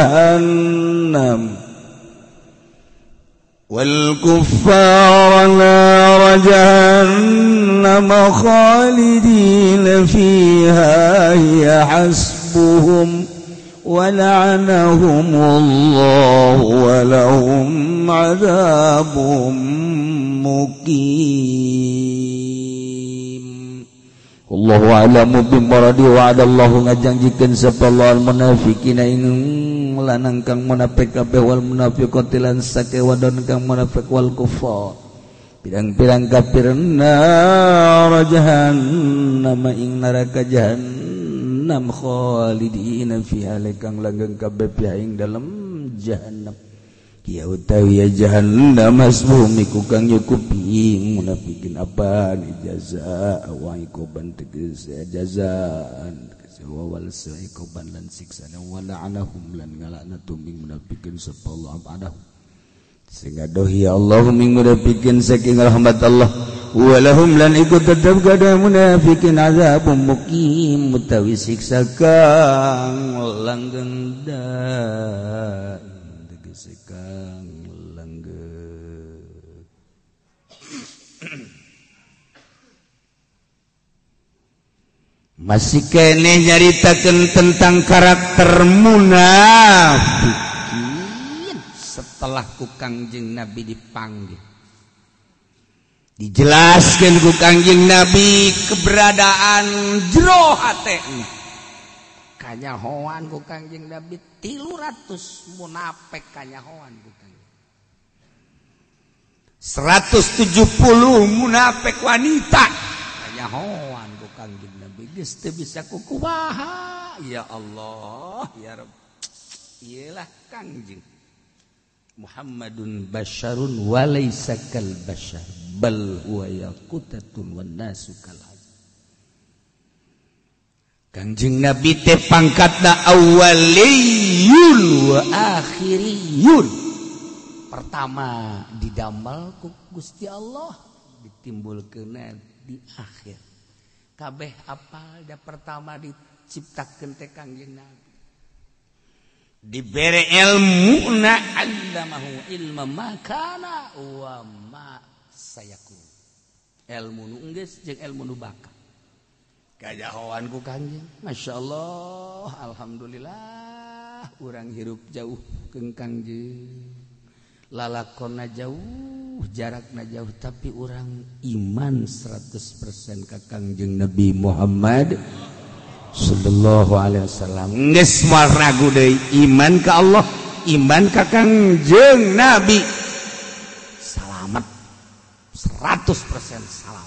جهنم خالدين فيها هي حسبهم ولعنهم الله ولهم عذاب muqim. Wallahu a'lamu bimuradi wa adallahu ngajangjikeun sapa Allah munafiqina ing lanang kang munafik kabeh wal munafiqati lan sake wadon kang munafik wal kufar pirang-pirang kafirna jahannam ing neraka jahannam khalidina fiha lekang langgeng kabeh ing dalam jahannam ya utawi ya jahannam masbumi ku kang nyukupi munafikin apa ni jaza wa ikoban tegas jazaan wal saikoban lan siksa wa la'anahum lan ngalana tuming munafikin sapa Allah abadahu sehingga dohi Allah ming munafikin saking rahmat Allah walahum lan ikut tetap kada munafikin azabun muqim mutawi siksa kang langgeng tegese kang langgeng masih keneh nyaritakeun tentang karakter munafikin setelah ku Kangjeng Nabi dipanggil dijelaskan ku Kangjeng Nabi keberadaan jero hatena kanyahoan ku Kangjeng Nabi 300 munafik kanyahoan ku Kangjeng 170 munafik wanita kanyahoan ku Kangjeng Nabi geus teu bisa kukumaha ya Allah ya Rabb iyalah Kangjeng Muhammadun basyarun wa laysa kal basyar bal huwa yaqutatun wan nasu kal Kangjeng Nabi teh pangkatna awaliyun wa akhiriyun pertama didamel ku Gusti Allah ditimbulkeun di akhir kabeh apal da pertama diciptakeun teh Kangjeng Nabi dibere ilmu na allamahu ilma makana wa ma sayakun ilmu nu geus jeung ilmu nu bakal kajahoan ku Kangjeng masyaallah alhamdulillah urang hirup jauh keun Kangjeng lalakonna jauh jarakna jauh tapi urang iman 100% ka Kangjeng Nabi Muhammad sallallahu alaihi wasallam geus moal ragu deui iman ka Allah iman ka Kangjeng Nabi salamet 100% salamet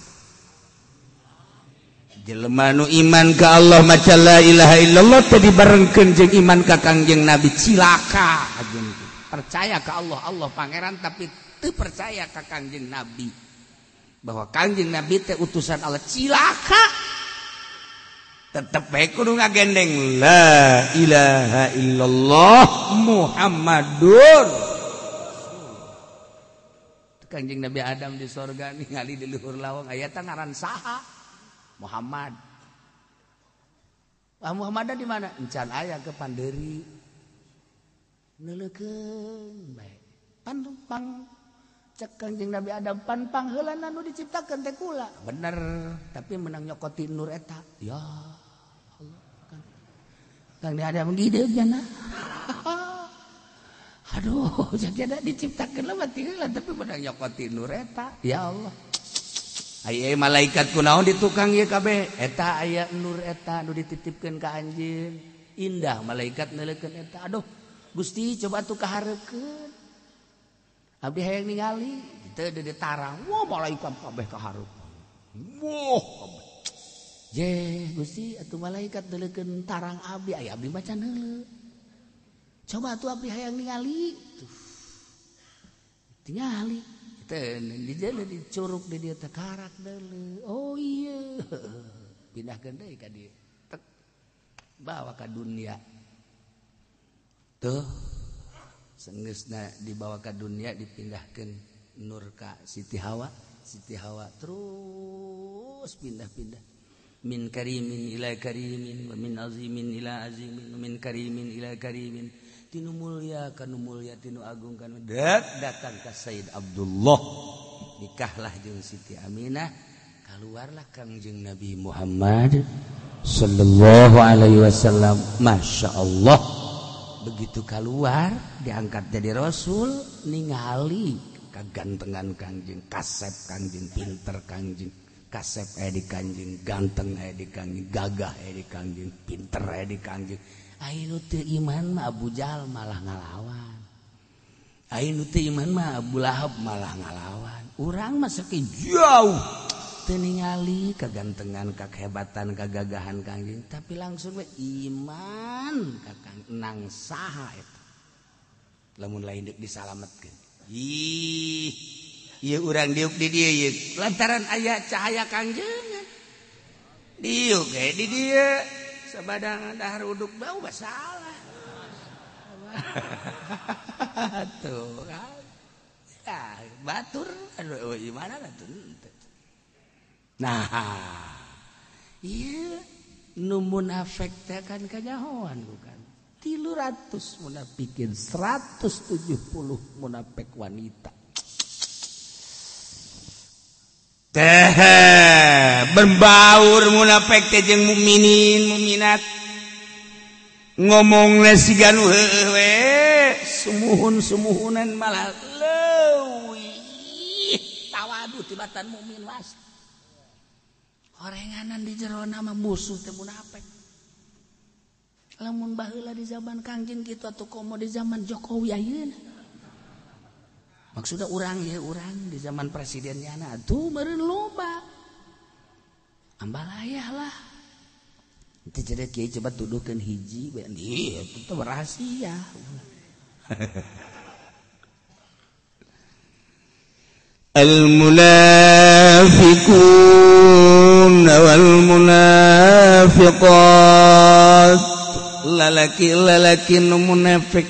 jelema nu iman ka Allah maca la ilaha illallah teh dibarengkeun jeung iman ka Kangjeng Nabi cilaka percaya ka Allah Allah pangeran tapi teu percaya ka Kangjeng Nabi bahwa Kangjeng Nabi teh utusan Allah cilaka tetep bae kudu ngagendeng la ilaha illallah Muhammadur Kangjeng Nabi Adam di sorga ningali di luhur lawang aya teh ngaran saha Muhammad Muhammad di mana encan aya ke Pandeuri neuleukeun bae pang cek Kangjeng Nabi Adam pan heulana nu diciptakeun teh kula bener tapi menang nyokoti nur eta ya Kang ada menggide jana. Aduh, jadi diciptakeun lah mati heula tapi menang nyokoti nur eta. Ya Allah. Aya malaikat kunaon di tukang ieu kabeh? Eta aya nur eta nu dititipkeun ka anjeun. Indah malaikat neuleukeun eta. Aduh, Gusti coba atuh kahareukeun. Abdi hayang ningali, teu di tarang. Wah, malaikat kabeh kahareup. Wah, je Gusti atuh malaikat neuleukeun tarang abdi aya abdi macan heuleu coba atuh abdi hayang ningali tuh tingali teh di jalan dicurug di dieu teh karak deuleu oh iya pindahkeun deui ka dieu tek bawa ka dunia tuh seunggeusna dibawa ka dunia dipindahkeun nur ka Siti Hawa terus pindah-pindah min karimin ila karimin wa min azimin ila azimin wa min karimin ila karimin tinu mulya kanu mulya tinu agung kanu datang ka Sayyid Abdullah nikahlah jeung Siti Aminah keluarlah Kangjeng Nabi Muhammad sallallahu alaihi wasallam masyaallah begitu keluar diangkat jadi rasul ningali kagantengan Kangjeng kasep Kangjeng pinter Kangjeng kasep di Kangjeng ganteng di Kangjeng gagah di Kangjeng pinter di Kangjeng anu teu iman mah Abu Jahal malah ngalawan Aing nu teu iman mah Abu Lahab malah ngalawan. Urang mah saking jauh teu ningali kagantengan, kakehebatan, kagagahan Kangjeng, tapi langsung we iman kakang nang saha eta. Lamun lain deuk disalametkeun. Ih, ieu urang diuk di dieu ieu lantaran aya cahaya Kangjeng. Diuk ge di dieu sabadang dahar uduk bau basalah. Tuh kan. Ya, batur aduh gimana tuh. Nah, iya nu munafik teh kan kanyahoan bukan. 300 munafikin 170 munafik wanita. Teh berbaur munafik teh jeung mukminin mukminat. Ngomongna sigan we sumuhun-sumuhunan malah leuwih tawadu tibatan mukmin was. Horenganan di jero nama musuh teh munafik. Lamun baheula di zaman Kangjeng kitu atuh komo di zaman Jokowi ayeuna. Maksudna urang ya urang di zaman presidennya atuh meureun loba. Ambalayah lah. Itu jadi kiai coba tuduhkan hiji, iya itu rahasia. Al-munafiqun wal munafiqat, lalaki nu munafik,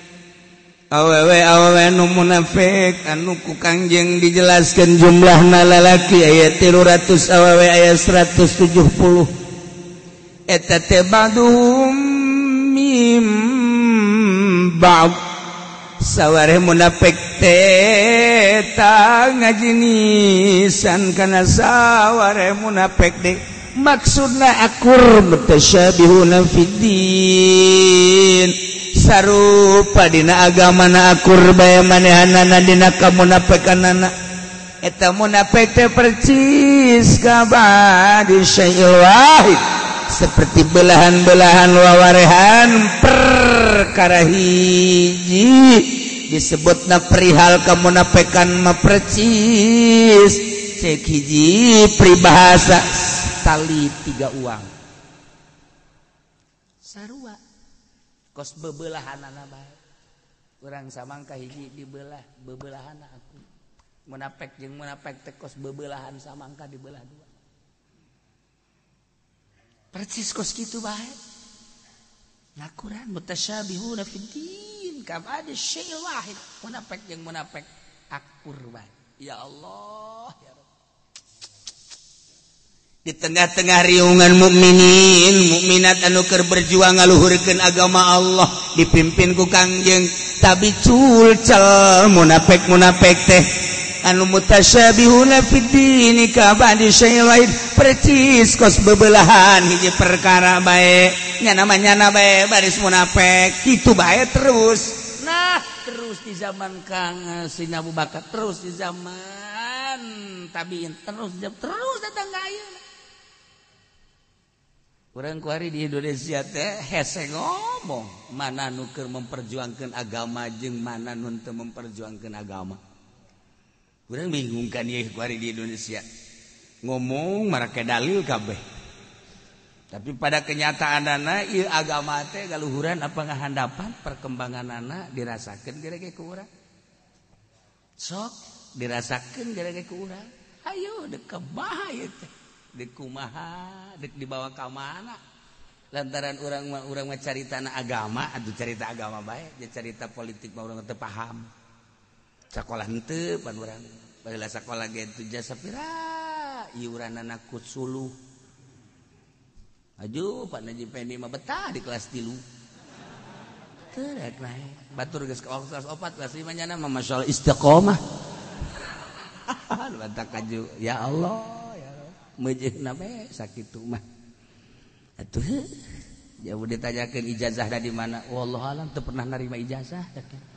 awewe nu munafik, anu ku Kangjeng dijelaskan jumlahna lalaki ayat 300 awewe ayat 170. Eta teh badum mim ba'd sawareh munafik teh ta ngajinisan kana sawareh munafik de maksudna akur mutasyabihuna fiddin sarupa dina agamana akur bae manehanana dina kamunafikanana. Eta munafik teh percis kabadi syai'il wahid seperti belahan-belahan wawarehan perkara hiji disebutna perihal kamunafikan mah percis cek hiji pribahasa tali 3 uang sarua kos bebelahanana bae urang samangka hiji dibelah bebelahanna aku munafik jeung munafik teh kos bebelahan samangka dibelah 2 percis kos kitu bae ngakuran mutasyabihuna fiddin kama ada syai'il wahid munafik jeung munafik akur bae ya Allah ya Rabb. Di tengah-tengah riungan mukminin mukminat anu keur berjuang ngaluhurkeun agama Allah dipimpin ku Kangjeng tapi culcel munafik teh anu mutasyabihuna fiddin ka ba'di syai'il wahid percis kos bebelahan hiji perkara bae nya namanya bae baris munafik kitu bae terus nah terus di zaman Kang Sina Abu Bakar terus di zaman tabiin terus datang ka ayeuna urang kuari di Indonesia teh hese ngomong mana nu keur memperjuangkeun agama jeung mana nu teu memperjuangkeun agama. Urang bingung kan ieu kuari di Indonesia. Ngomong marake dalil kabeh. Tapi pada kenyataanana ieu agama teh galuhuran apa ngahandapan perkembanganana dirasakeun gara-gara ku urang. Sok dirasakeun gara-gara ku urang. Hayu deuk kumaha ieu teh? Deuk kumaha? Deuk dibawa ka mana? Lantaran urang mah caritana agama, atuh carita agama bae, jeung carita politik mah urang teu paham. Sakola henteu pan urang baheula sakola ge teu jasa pira iuranana ku suluh aju Pak Najib Pendi mah betah di kelas 3 teu rek nae batur geus ka kelas 4 kelas 5 nyana mah masyaallah istiqomah batak kaju ya Allah ya Allah meujeuhna bae sakitu mah atuh jauh ditanyakeun ijazah da di mana wallahu alam teu pernah narima ijazah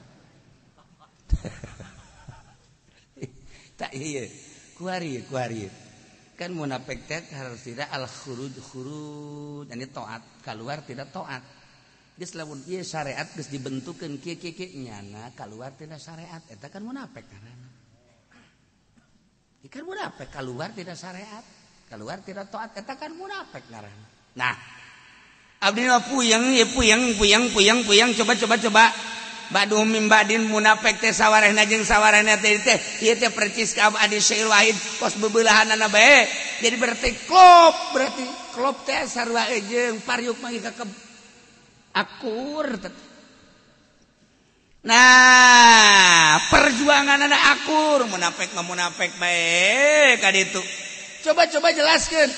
tak iya kuari kan munafik teh harus tidak al khuruj ini taat keluar tidak taat geus lamun ieu syariat geus dibentukeun kieu nyana kaluar tina syariat eta kan munafik ngaranna. Ikan munafik keluar tina syariat, keluar tina taat eta kan munafik ngaranna. Nah, abdi mah puyeng coba. Badu mimbadin munafik teh sawarehna jeung sawarehna teh ieu teh percis ka Abdi Syair Wahid kos bebelahanana bae. Jadi berarti klop teh sarua jeung pariuk mah ka akur. Nah, perjuanganana akur munafik mah munafik bae ka ditu. Coba jelaskeun.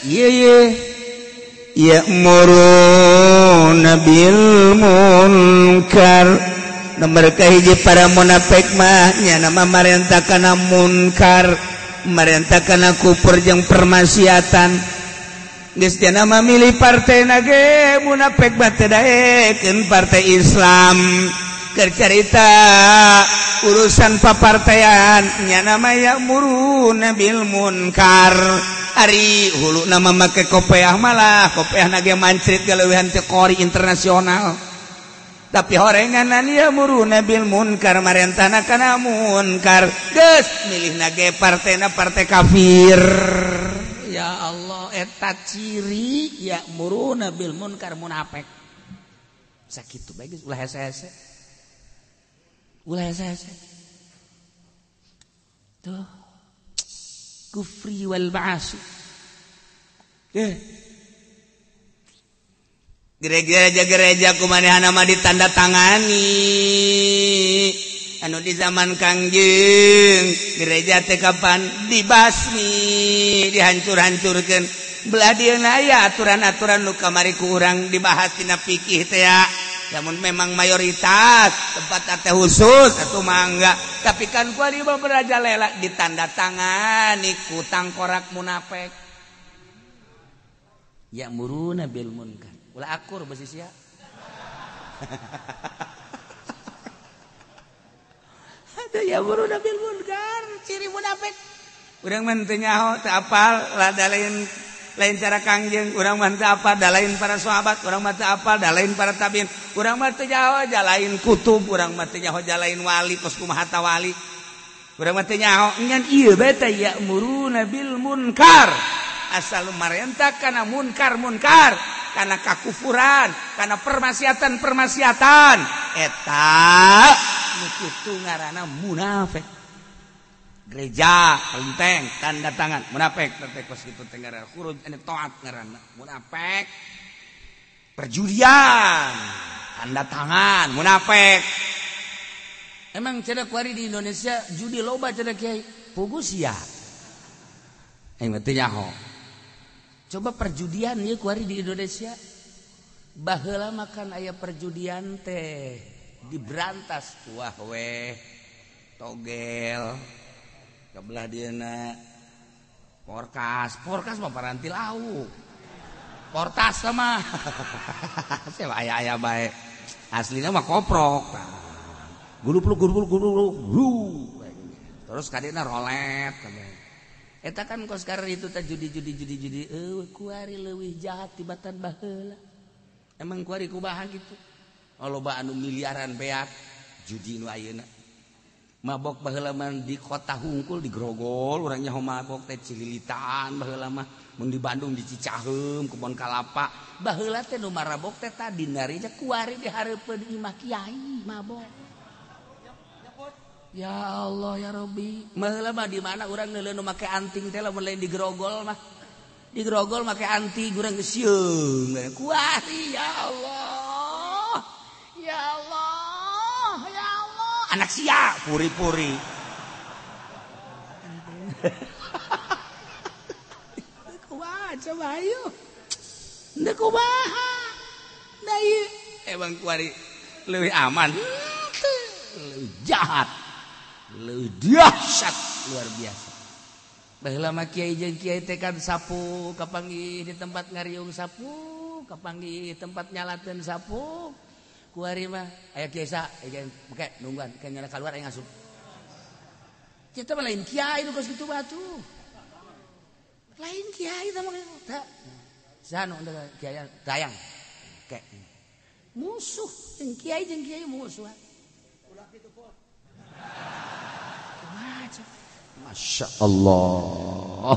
Ya'muruna bil munkar. Nomor kahiji para munafik mah nya nama marentah kana munkar, marentah kana kufur jeung permaksiatan. Geus teh nama milih partena ge munafik bate daekeun partai Islam. Keur carita urusan papartean nya nama ya'muruna bil munkar. Ari hulu nama make kopiah malah kopiahna ge mancrit galeuwehan teh qori internasional. Tapi horenganan ya'muruna bil munkar marentana kana munkar geus milihna ge partena partai kafir. Ya Allah eta ciri ya'muruna bil munkar munafik. Sakitu bae geus ulah hese-hese. Tuh kufri wal ba'asi. Gereja kumanehana mah ditandatangani anu di zaman Kangjeng gereja teh kapan dibasmi dihancur-hancurkeun belah dieuna aya aturan-aturan nu kamari ku urang dibahas tina fikih teh ya lamun memang mayoritas tempat teh khusus atuh mangga tapi kan ku ari merajalela ditandatangani ku tangkorak munafik ya'muruna bil munkar ulah akur besi sia. Ada ya'muruna bil munkar, ciri munafik. Urang mah teu nyaho, teu apal, da lain cara Kangjeng, urang mah teu apal, da lain para sahabat, urang mah teu apal, da lain para tabiin. Urang mah teu nyaho, da lain kutub, urang mah teu nyaho, da lain wali, kos kumaha ta wali. Urang mah teu nyaho, ngan ieu bae teh ya'muruna bil munkar. Asal marentah kana munkar kana kakufuran kana permaksiatan eta nu kitu ngaranna munafik. Gereja kelenteng tanda tangan munafik teh kos kitu teh ngaranna khuruj anu taat ngaranna munafik. Perjudian tanda tangan munafik. Emang cenah kuari di Indonesia judi loba cenah kiai pugu sia. Aing teh nyaho. Coba perjudian ya kuari di Indonesia. Baheula makan aya perjudian teh diberantas wah weh togel kabelah dieuna porkas mah paranti lauk portas mah sewa aya bae aslina mah koprok gulup terus kadina rolet eta kan kos karena itu teh judi kuari leuwih jahat tibatan baheula emang kuari kumaha gitu loba anu miliaran beak judi nu ayeuna mabok baheula mah di kota hungkul di Grogol urang nyaho mabok teh Cililitan baheula mah mun di Bandung di Cicaheum Kebon Kalapa baheula teh nu marabok teh tadi nari kuari dihareupeun imah kiai mabok. Ya Allah ya Rabbi. Baheula mah di mana urang neuleun nu make anting teh lamun lain di Grogol mah. Di Grogol make anting urang geus sieung. Kuari ya Allah. Ya Allah. Ya Allah. Anak sia puri-puri. Kumaha coba ayo. Ndeu kumaha. Da ieu emang kuari leuwih aman. Leuwih jahat. Leuwih dahsyat luar biasa. Baheula mah kiai jeung kiai teh kan sapu kapanggih di tempat ngariung sapu, kapanggih di tempat nyalakeun sapu. Kuari mah aya kiai sa, make nungguan ke nyala keluar aya ngasup. Kita mah lain kiai nu geus kitu batu. Lain kiai tah mah tah. Sanu kiai dayang. Kek. musuh jeung kiai musuh. Masya Allah.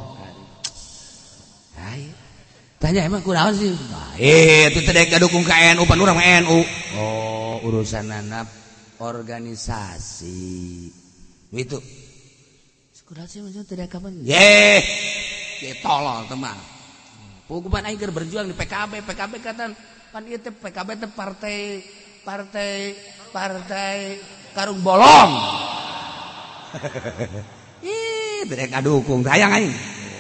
Tanya emang kunaon sih? Itu teh dukung ka NU pan urang NU. Oh, urusan anak organisasi. Itu. Kunaon sih maksudnya teh kapan? Ye tolol teman. Pugupan aing keur berjuang di PKB katan pan ieu teh PKB teh partai karung bolong. Ih, teh kadukung hayang aing.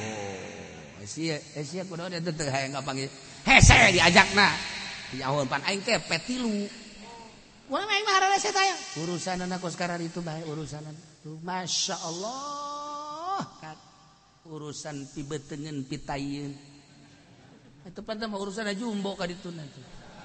Sia kunaon eta teh hayang ngapanggil. Hese diajakna. Nyahoon pan aing teh petilu. Urang aing mah hararese teh aya. Urusanana kos karar itu bae urusanana. Masya Allah. Urusan pibetengeun pitayeun. Itu pantas mah urusan jumbo ka ditu nanti.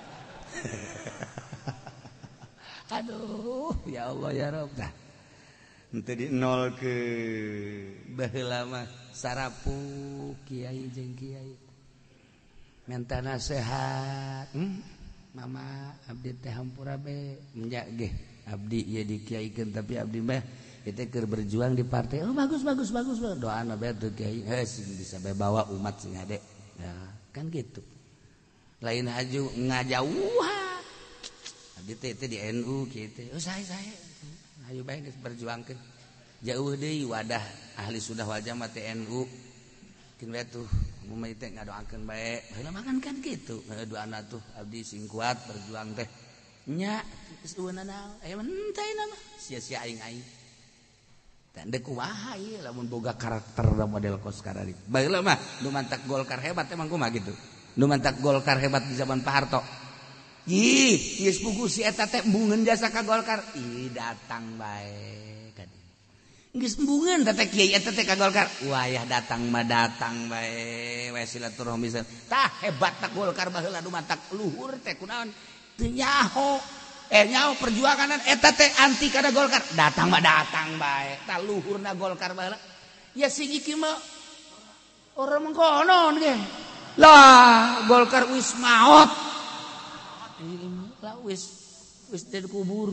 Aduh, ya Allah ya Rabb. Dah. Henteu di nol ke baheula mah sarapu kiai jeung kiai. Minta nasihat. Mama abdi teh hampura be nya ge. Abdi ieu dikiaikeun tapi abdi mah kita keur berjuang di partai. Oh bagus. Doana bae teu kiai sing bisa bawa umat sing ade. Ya, kan gitu. Lain haju ngajauhan. Abdi teh di NU kitu. Oh saya. Ayo bae geus berjuangkeun. Jauh deui wadah ahli sunnah wal jamaah teh NU. Kin we tuh mun teh ngadoakeun bae. Heula makan kan kitu. Doana tuh abdi sing kuat berjuang teh. Nya geus eueunna naon? Aya mentei na mah. Sia-sia aing. Tandek kumaha ieu lamun boga karakter model kos karari. Baheula mah nu mantak Golkar hebat emang kumaha gitu. Nu mantak Golkar hebat di zaman Pak Harto. Ih, geus pugu si eta teh embungeun jasa ka Golkar. Ih, datang bae ka dieu. Geus embungeun teh kiai eta teh ka Golkar. Wayah datang bae. We silaturahmi. Tah hebatna Golkar baheula nu mantak luhur teh kunaon? Teu nyaho. Nyaho perjuangan eta teh anti kada Golkar. Datang bae. Tah luhurna Golkar baheula. Ya sing iki mah orang mengkonon ge. Lah, Golkar wis maot. Lah wis dari kubur.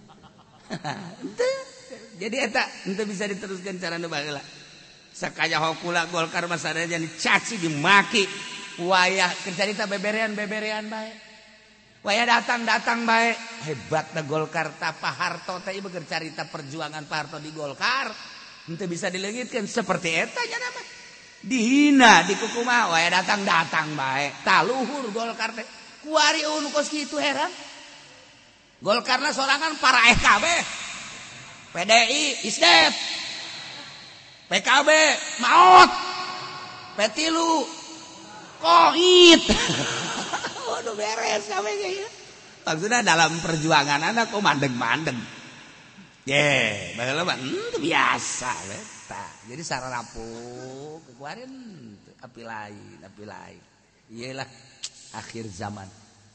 Jadi eta henteu bisa diteruskan carana baheula. Sakaya hokula Golkar mah sadaya dicaci dimaki. Wayah kerjarita beberean bae. Wayah datang bae. Hebatna Golkar tah Pak Harto teh ieu carita perjuangan Pak Harto di Golkar. Henteu bisa dileungitkeun seperti eta nya mah. Dihina di kukumaha wayah datang bae. Tah luhur Golkar teh. Kuari nu kos kitu heran. Golkarna sorangan para FKB. PDI ISDEP. PKB maot. Petilu koit. Waduh beres kabeh ge. Maksudna dalam perjuangan anak kok mandeg-mandeg. Baheula mah biasa eta. Jadi sararapu kekuarin api lain. Iyalah akhir zaman.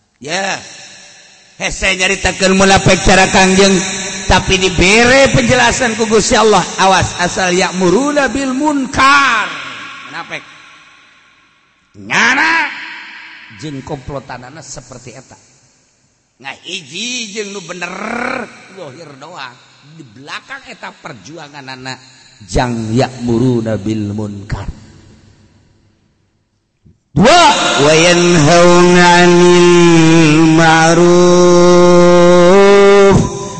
Hese nyaritakeun mulapek cara Kangjeng tapi dibere penjelasan ku Gusti Allah. Awas asal ya'muruna bil munkar. Munapek. Nyana jeung komplotanana seperti eta. Ngahiji jeung nu bener zahir doang. Di belakang eta perjuanganana jang ya'muruna bil munkar. Dua wa yanhauna 'anil ma'ruf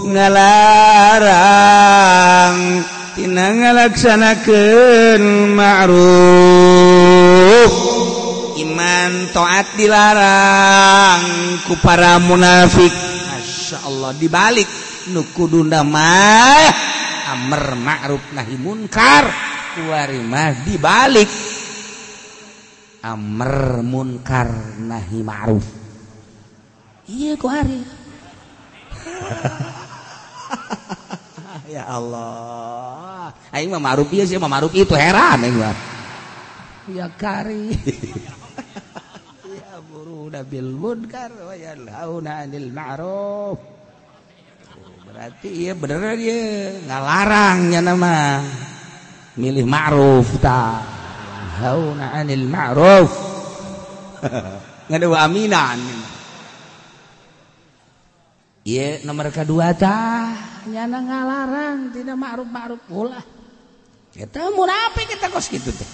ngalarang tina ngalaksanakeun ma'ruf. Iman taat dilarang ku para munafik. Masyaallah dibalik nu kuduna mah amr ma'ruf nahi munkar kuari mah dibalik amr munkar nahi ma'ruf. Iya ku hari. Ya Allah. Aing mah ma'ruf ieu sih mah ma'ruf itu heran aing mah. Ya kari. Ya buruna bil munkar wa yanhauna 'anil ma'ruf. Berarti ieu bener ieu ngalarang nya nama. Milih ma'ruf tah. Hauna 'anil ma'ruf. Ngadu aminan. Iya nomor kedua tah nyana ngalarang tidak ma'ruf ulah. Eta munafik kita kos kitu teh.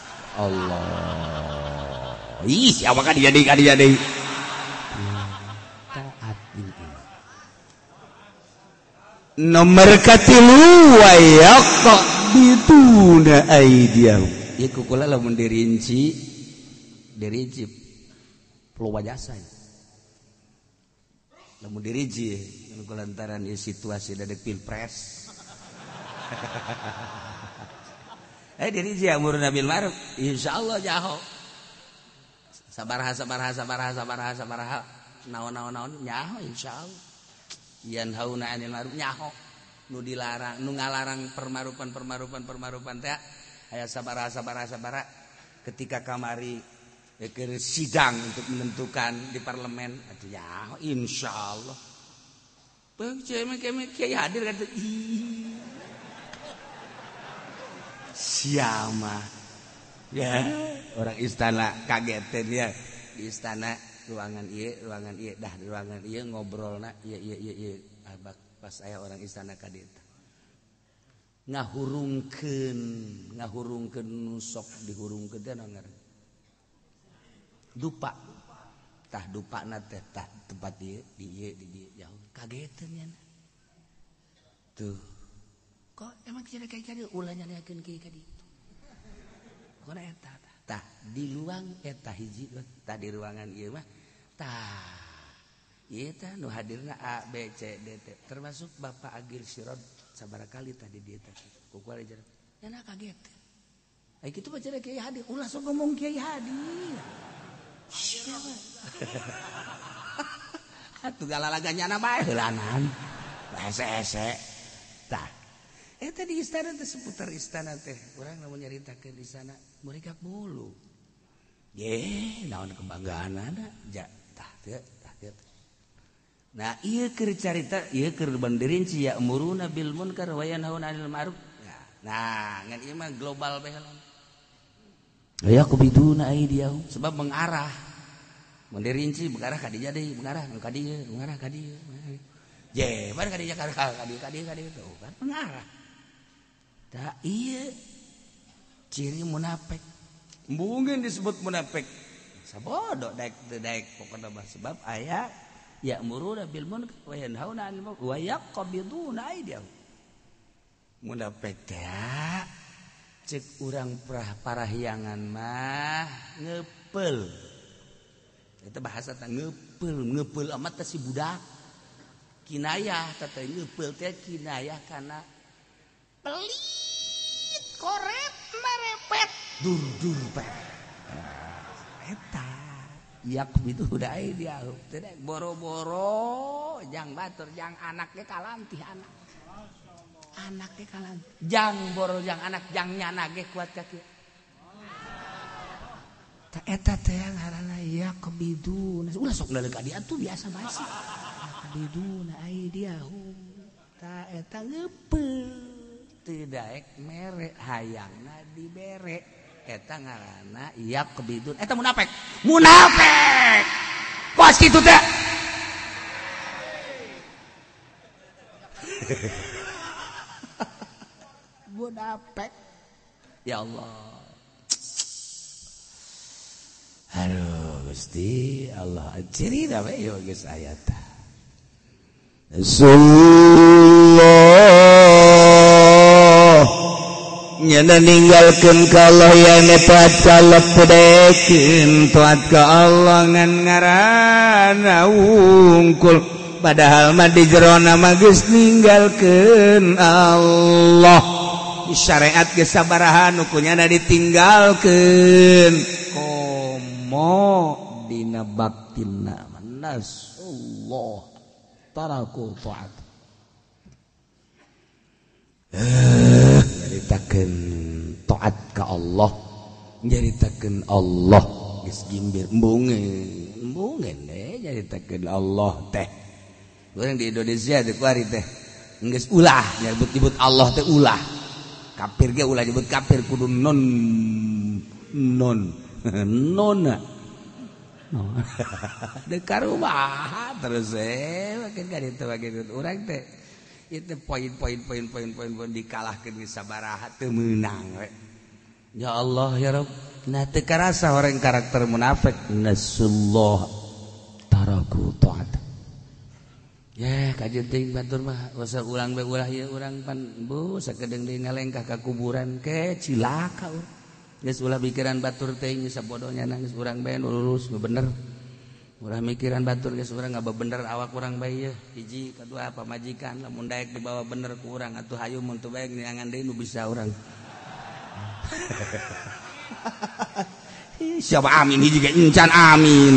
Allah. Ih, siapa kan dia deui. Taat ini. Nomor katilu wa yaqbiduna aydiyahum. Ieu kukula lamun dirinci peluang jasa. Lamun dirinci lantaran ieu situasi dadek pilpres. Dirinci amruna bil ma'ruf insyaallah jaho. Sabaraha naon nyaho insyaallah. Yanhauna 'anil ma'ruf nyaho nu dilarang nu ngalarang permarupan teh aya sabaraha ketika kamari keur sidang untuk menentukan di parlemen atuh nyaho insyaallah beung cemek kiai hadir kata siama ya orang istana kagetin ya di istana ruangan ieu dah di ruangan ieu ngobrolna ieu abak pas aya orang istana ka dieu ngahurungkeun nu sok dihurungkeun teh naon ngaranna dupa tah dupana teh tah tempat ieu di jauh kageteun nya tuh kok emang cenah kayak ulah nyanyakeun kieu ka ditu kona eta tah di luang eta hiji tah di ruangan ieu mah tah ieu tah nu hadirna A B C D T termasuk Bapak Agil Sirod sabaraha kali tah di dieu teh kukual aja nya kaget ai kitu baca kiai hadir ulah sok ngomong kiai hadir atuh galalaganyana bae heulanan hese tah eta di istana teh seputar istana teh urang lamun nyaritakeun di sana mereka bulu ye naon kebanggaanna ja tah teu nah ieu keur carita ieu keur bandirinci ya umuruna bil munkar wa yanhauna 'anil ma'ruf nah ngan ieu mah global bae aya kubiduna aidiyahum sebab mengarah mendirinci mengarah ka dieu deui mengarah ka dieu je bar ka dieu ka dieu tuh kan mengarah da ieu ciri munafik mungkin disebut munafik sabodo daek pokona mah sebab aya ya'muruna bil munkar wa yanhauna 'anil ma'ruf wa yaqbiduna aydiyahum munafik teh cek urang parahyangan mah ngeupel eta bahasa teh ngeupel amat teh si budak kinayah teh ngeupel teh kinayah kana pelit korep merepet dur pe eta yaqbidu dai dia teh boro-boro jang batur jang anak ge kalantih anak ge kalantih jang boro jang anak jang nyana ge kuat ka kieu ta eta teh ngaranna yaqbidu ulah sok naleuk ka dia atuh biasa basi yaqbiduna aidiyahum ta eta ngeupel teu daek mere hayangna dibere eta ngaranna yaqbidun eta munafik kos kitu teh munafik ya Allah aduh Gusti Allah ciri da we yo geus aya tah nyana ninggalkeun ka Allah yang taat ka Allah pedekeun taat ka Allah ngan ngaranna wungkul padahal mah di jerona mah geus ninggalkeun Allah di syariat geus sabaraha nu kunyana ditinggalkeun komo dina baktina manas Allah taraku taat nyaritakeun taat ka Allah nyaritakeun Allah geus gimbir embungeun nyaritakeun Allah teh urang di Indonesia teh kuari teh geus ulah nyebut-nyebut Allah teh ulah kafir ge ulah nyebut kafir kudu non Dekar rumah terus makin kan itu orang teh itu poin dikalahkan di sabaraha teu meunang we. Ya Allah ya Rabb, nah teu karasa orang karakter munafik nasullah taraku taat. Ya kajian teuing batur mah usah ulang bae ulah ieu urang pan bu sakedeung deui ngalengkah ka kuburan ke cilaka urang. Geus ulah pikiran batur teuing sabodohnya nangis urang bae nu lurus nu bener. Ulah mikiran batur geus urang ngabebener awak urang bae ieu. Hiji kadua pamajikan lamun daek dibawa bener ku urang atuh hayu mun teu bae niangan deui nu bisa urang. Siapa amin hiji ge encan amin.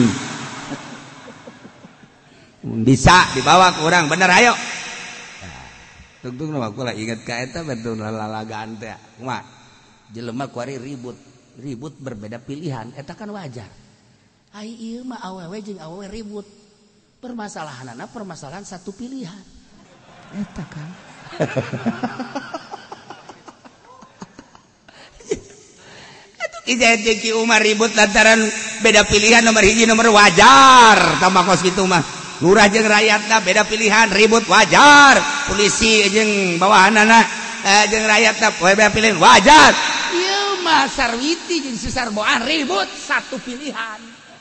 Bisa dibawa ke orang bener ayo. Tungtung nama aku lah ingat ka eta betul lalagaan teh. Kumaha? Jelema kuari ribut berbeda pilihan eta kan wajar. Ai ieu mah awewe jeung awewe ribut. Permasalahanna permasalahan satu pilihan. Eta kan. Atuh kijaya Ki Umar ribut lantaran beda pilihan nomor hiji nomor wajar. Tambah kos kitu mah. Lurah jeung rakyatna beda pilihan ribut wajar, polisi jeung bawahanna jeung rakyatna beda pilihan wajar. Ieu mah sarwiti jeung sesarboan ribut satu pilihan.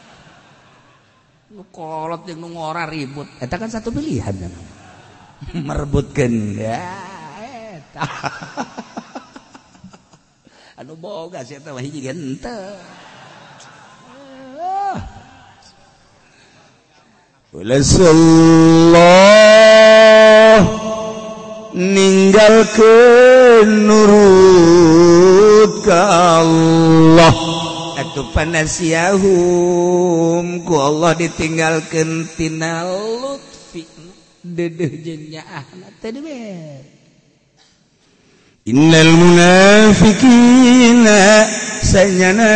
Nu kolot jeung nu ngora ribut, eta kan satu pilihan kan. Merebutkeun ya eta. Anu boga sia eta mah hiji ge henteu. Rasulullah ninggalkeun nurut ka Allah atuh panasiahum ku Allah ditinggalkeun tina lutfi deudeuh jeung nyaahna teh dewe. Innal munafiqina sanyana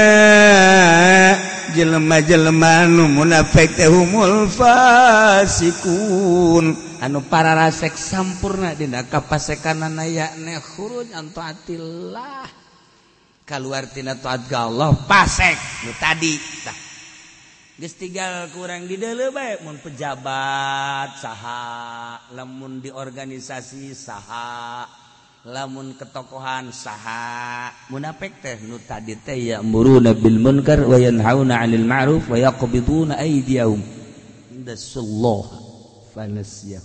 jelema-jelema nu munafik teh humul fasikun anu pararasek sampurna dina kapasekanana yakna khuruj an taatillah kaluar tina taat ka Allah pasek nu tadi tah geus tinggal kurang di deuleu bae mun pejabat saha lamun di organisasi saha lamun ketokohan saha munafik teh nu tadi teh ya'muruna bil munkar wa yanhauna 'anil ma'ruf wa yaqbiduna aydiyahum indasallah fanasiyah.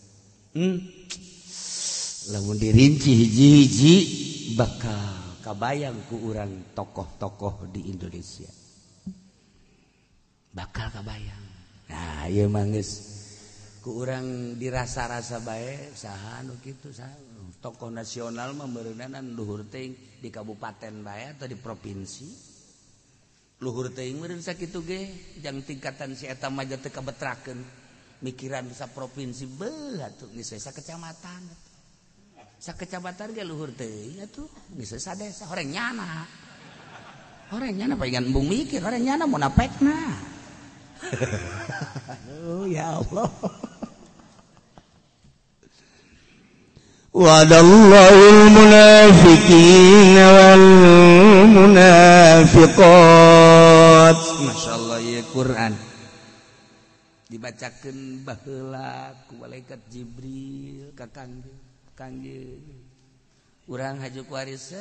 Lamun dirinci hiji-hiji bakal kabayang ku urang tokoh-tokoh di Indonesia bakal kabayang. Nah ieu mah geus ku urang dirasa-rasa bae saha nu kitu saha tokoh nasional mah beureunan luhur teuing di kabupaten bae atau di provinsi luhur teuing meureun sakitu ge jang tingkatan si eta mah teu kabetrakeun mikiran sa provinsi beuh atuh geus sa kecamatan sakecamatan ge luhur teuing atuh geus sa desa horengnyana palingan embung mikir horengnyana munafekna. Oh ya Allah. Wa'adallahul munafiqina wal munafiqat. Masyaallah ya Quran dibacakeun baheula ku malaikat Jibril ka kangge urang haju kuaris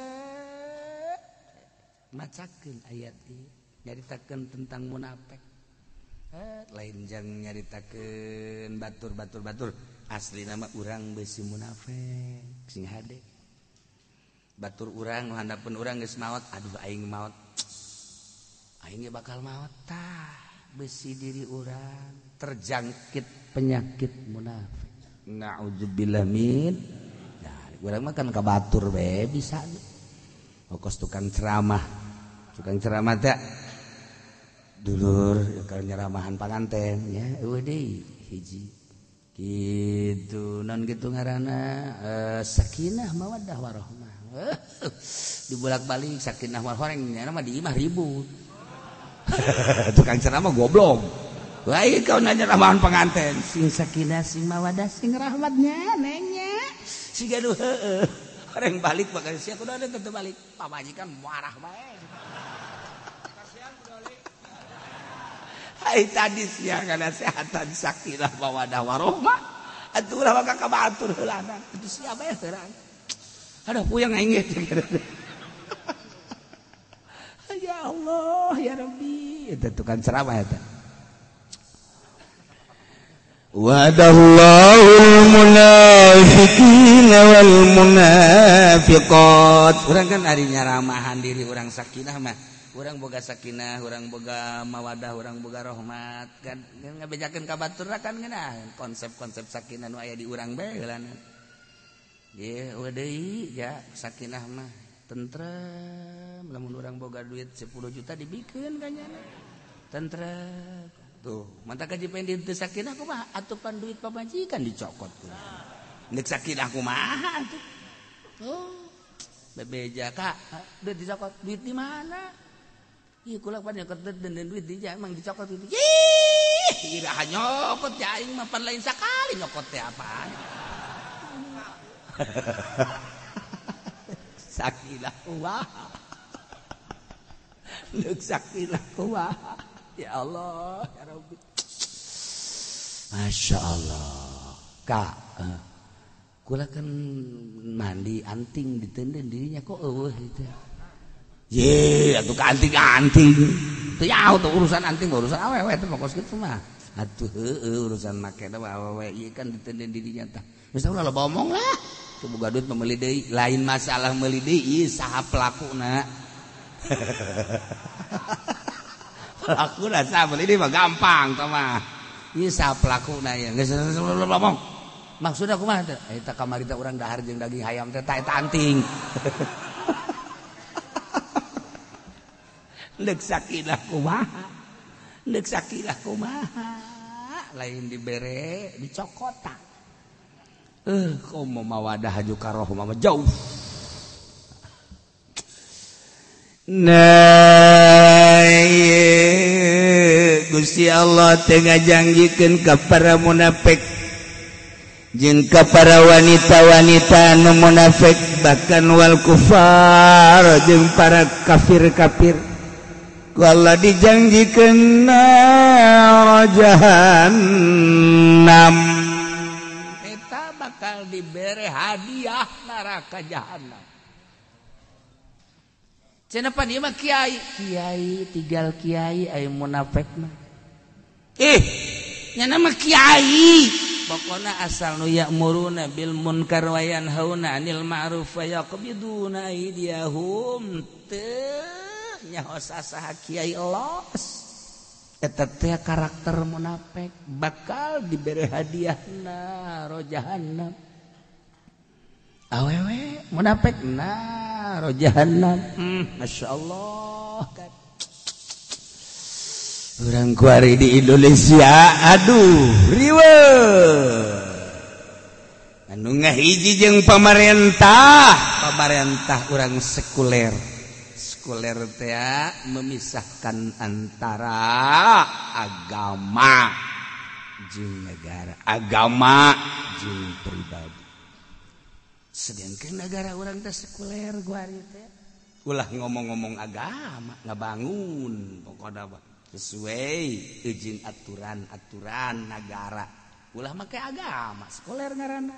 macakeun ayat ieu nyaritakeun tentang munafik. Lain jang nyaritakeun batur asli nama urang besi munafik sing hade batur urang nu handapeun urang geus maot aduh aing maot aing ge bakal maot tah besi diri urang terjangkit penyakit munafik naudzubillah min. Nah urang mah kan ka batur bae bisa kos tukang ceramah teh dulur kalau nyeramahan panganten ya eueuh deui hiji gitu non gitu ngaranna sakinah mawaddah warahmah dibolak-balik sakinah warahmah mah di imah ribut tukang ceramah goblok lain kau nanya ramahan penganten sing sakinah sing mawaddah sing rahmatnya nengnya si gaduh orang balik bakal sia kudu ada tetep balik pamajikan marah bae ai hadisnya kana sehatan sakinah mawadah warahmah atuh ulah maka kabatur heulana itu siapa ya heurang aduh puyeng aing ya Allah ya Rabbi itu tukang ceramah eta Wa'adallahul munafiqina wal munafiqat. Urang kan ari nyaramahan diri urang sakinah mah. Urang boga sakinah, urang boga mawadah, urang boga rahmat kan ngabejakeun ka batur kan geunah konsep-konsep sakinah nu aya di urang bae heulana. Ye, deui ya sakinah mah tentrem lamun urang boga duit 10 juta dibikeun ka nyana. Tentrem. Tuh, mantap kaji pengen di sakinah kumaha atupan duit pamajikan dicokot tuh. Nek sakinah kumaha tuh. Oh. Bebeja Kak, duit dicokot, duit di mana? Ieu kula pan nyokot dan duit di emang dicokot itu. Ih, ira nyokot ya aing mah pan lain sakali nyokot teh apaan. Sakinah kumaha. Nek sakinah kumaha. Ya Allah, ya Rabbi. Masya Allah. Kak, kula kan mandi anting ditenden dirinya kok eueuh itu. Ye, atuh ka anting-anting. Teu nyaho tuh urusan anting, urusan awewe teh pokos kitu mah. Atuh heueuh urusan make teh awewe ieu kan ditenden dirinya tah. Geus ulah loba omong lah. Teu boga duit meuli deui, lain masalah meuli deui ieu saha pelakuna. Pelaku rasa beli ini mah gampang mah. Ieu sa pelakuna ya. Geus ngomong. Maksudna kumaha teh? Eta kamari teh urang dahar jeung daging hayam teh eta anting. Neuk sakinah kumaha? Neuk sakinah kumaha? Lain dibere dicokota. Komo mawadah haju karohmah mah jauh. Nah, Gusti Allah teu ngajanggikeun ka para munafik jeung ka para wanita-wanita nu munafik bahkan wal kufar jeung para kafir-kafir ku Allah dijanggikeun nar jahannam eta bakal dibere hadiah neraka jahanam. Cenah ieu mah kiai tinggal kiai aya munafik mah. Nya nama kiai. Pokona asal nu ya'muruna bil munkar wa yanhauna 'anil ma'ruf wa yaqbiduna aydiyahum. Teu nyaho saha kiai elos. Eta teh karakter munafik bakal diberi hadiahna ro jahannam. Awewe munafik ro jahannam. Masyaallah kan. Urang kuari di Indonesia aduh riweuh. Anu ngahiji jeung pamarentah urang sekuler. Sekuler teh memisahkan antara agama jeung negara, agama jeung pribadi. Sedangkan negara orang teh sekuler gua teh ulah ngomong-ngomong agama ngabangun pokokna sesuai izin aturan negara ulah make agama sekuler ngaranna.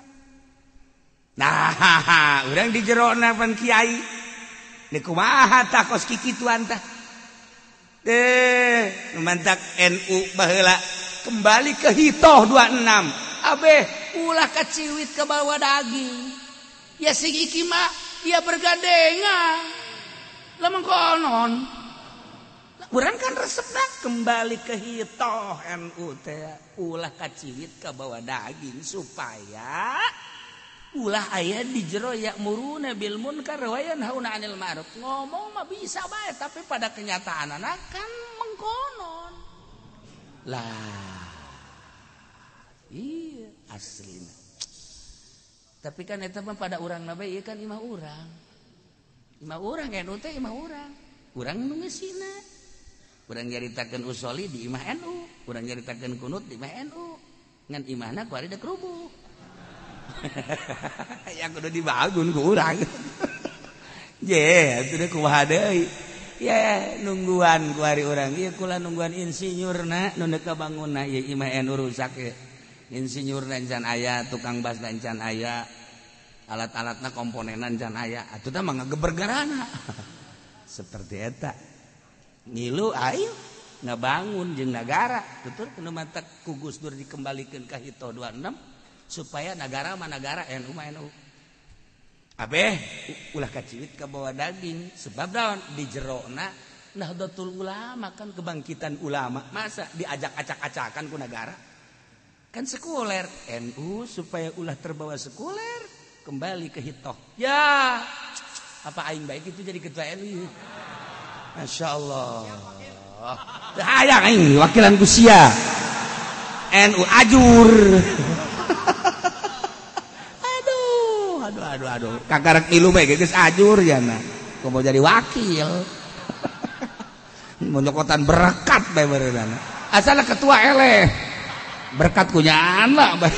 Nah urang di jerona pan kiai nek kumaha tah kos kikituan tah mantak NU baheula kembali ke hitoh 26 abeh ulah kaciwit ke bawah daging. Ya sing iki mah dia bergandengan. Lamang konon. Urang kan resepna kembali ke hitoh NU teh ulah kaciwit ka bawa daging supaya ulah aya di jero ya'muruna bil munkar wa yanhauna 'anil ma'ruf. Ngomong mah bisa bae tapi pada kenyataanna kan mengkonon. Lah. Iya aslina. Tapi kan eta mah pada urang na bae ieu kan imah urang. Imah urang NU teh imah urang. Urang nu ngeusina. Urang nyaritakeun usoli di imah NU, urang nyaritakeun kunut di imah NU. Ngan imahna ku ari da kerubuh. Ya kudu dibangun ku urang. Je, atuh kumaha deui. ya nungguan ku hari urang ieu kula nungguan insinyurna nu neuk ka bangunna ieu imah enu rusak ye insinyurna encan aya tukang bas encan aya alat-alatna komponenan encan aya atuh teh mah ngagebergarana seperti eta ngilu ayo ngabangun jeung nagara tutur kena mata ku Gus Dur dikembalikeun ka Hito 26 supaya negara mah negara NU mah NU abeh ulah kaciwit ka bawa daging sebab daun di jerona Nahdlatul Ulama kan kebangkitan ulama masa diajak acak-acakan ku negara kan sekuler NU supaya ulah terbawa sekuler kembali ke Hito ya apa aing baik itu jadi ketua NU Masya Allah hayang aing wakilan kusia NU ajur aduh kakarek ilu mah geus ajur yana kumaha jadi wakil monyokotan berkat bae beureunan asalna ketua eleh berkat kunyana bae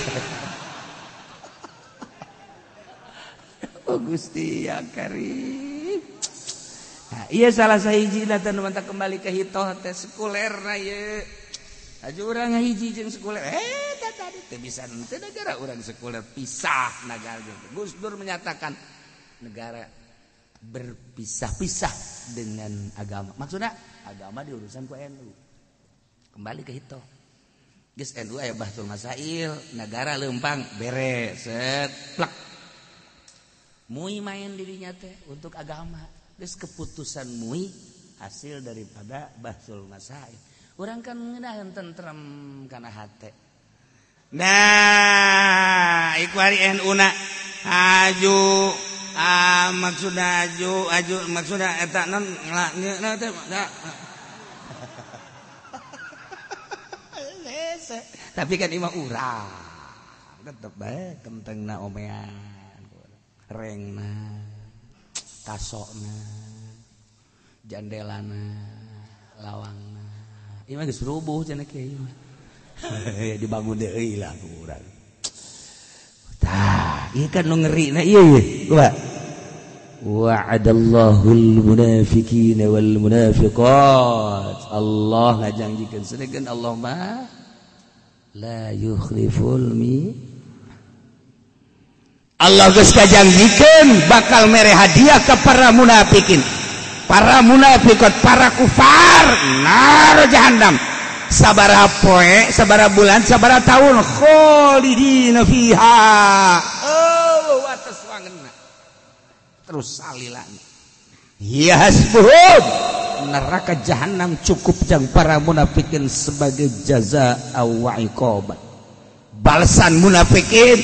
oh Gusti ya Karim nah, iya salah sahijina teh nu mantap kembali ke Hito teh sekulerna ye aju urang ngahiji jeung sekuler tadi teh bisa teh negara urang sekuler pisah negara Gus Dur menyatakan negara berpisah-pisah dengan agama maksudnya agama diurusan ku NU kembali ke Hito geus NU aya bahtul masail negara leumpang beres set plak mui main dirinya teh untuk agama geus keputusan mui hasil daripada bahtul masail urang kan ngeunaheun tentrem kana hate nah iku hari NU na aju maksudna aju maksudna eta non teh tapi kan imah urang tetep bae kentengna omean rengna kasokna jandelana lawangna imah geus rubuh cenah kieu dibangun deui lah ku urang tah ieu kan nu ngeurina ieu coba wa'adallahul munafiqina wal munafiqat Allah ngajanjikeun sanegeun Allah mah la yukhliful Allah geus kajanjikeun bakal mere hadiah ke para munafikin para munafiqat para kufar nar jahannam sabaraha poe sabaraha bulan sabaraha taun khalidina fiha oh atas wangeuna terus salilana ya hasbuhum neraka jahanam cukup jang para munafikin sebagai jaza wa iqabat balasan munafikin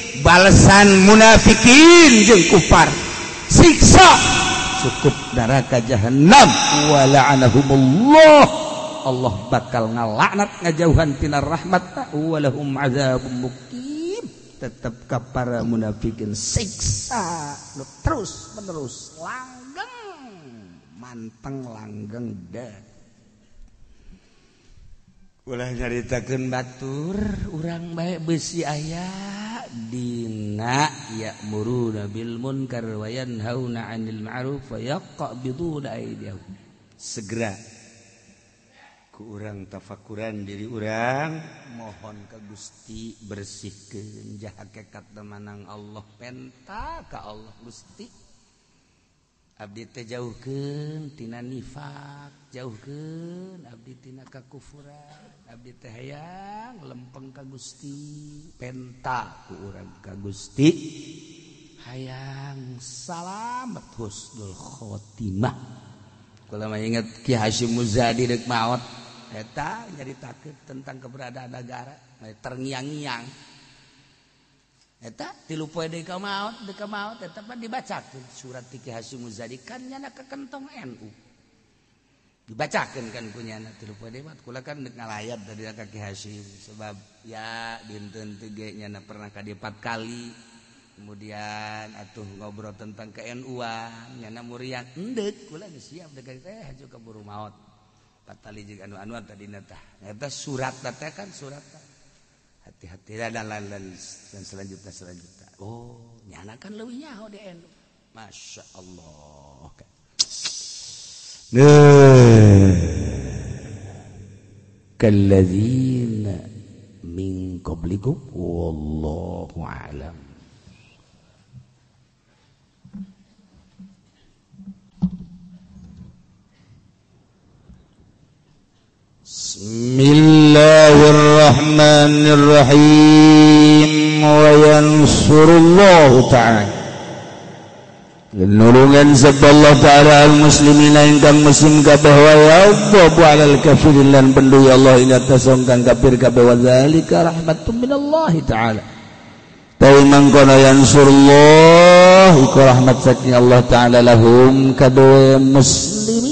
jeung kufar siksa cukup neraka jahanam wa la'anahumullah Allah bakal ngalaknat ngajauhan tina rahmat wa lahum adzabun muqim tetep ka para munafikin siksa terus menerus langgeng manteng langgeng dah ulah nyaritakeun batur urang bae beusi aya dina ya'muruna bil munkar wa yanhauna 'anil ma'ruf wa yaqbiduna aydihum segera ku urang tafakuran diri urang mohon ka Gusti bersihkeun jah hakikat manang Allah penta ka Allah Gusti abdi teh jauhkeun tina nifaq jauhkeun abdi tina kakufuran abdi teh hayang lempeng ka Gusti penta ku urang ka Gusti hayang salamet husnul khotimah kula mah inget Ki Hasyim Muzadi deuk maot eta nyaritakeun tentang keberadaan negara terngiang-ngiang eta 3 poe deui ka maot eta mah dibacakeun surat Ki Hasyim Muzadi kan nyana ka kentong NU dibacakeun kan kunyana 3 poe deui mah kula kan deuk ngalayat dari ka Ki Hasyim sebab ya dinten teh ge nyana pernah ka 4 kali kemudian atuh ngobrol tentang ke-NU-an nyana muriang endeuh kula geus siap deuk teh haju kaburu maot patali jeung anu-anu tadina tah eta surat teh kan surat hati-hati dan selanjutnya oh nyana kan leuwih nyaho di NU Masya Allah kalladzina min qablikum wallahu a'lam. Bismillahirrahmanirrahim. Wa yansurullahu ta'ala nulungan sabda ta'ala al-muslimina ingkang muslim kabeh wa yadhabu 'alal kafirin lan pendu ya Allah ila tasongkang kafir kabeh wa zalika rahmatun minallahi ta'ala. Tawi mangkono yansurullah iku rahmat saking Allah ta'ala lahum kadue muslimin.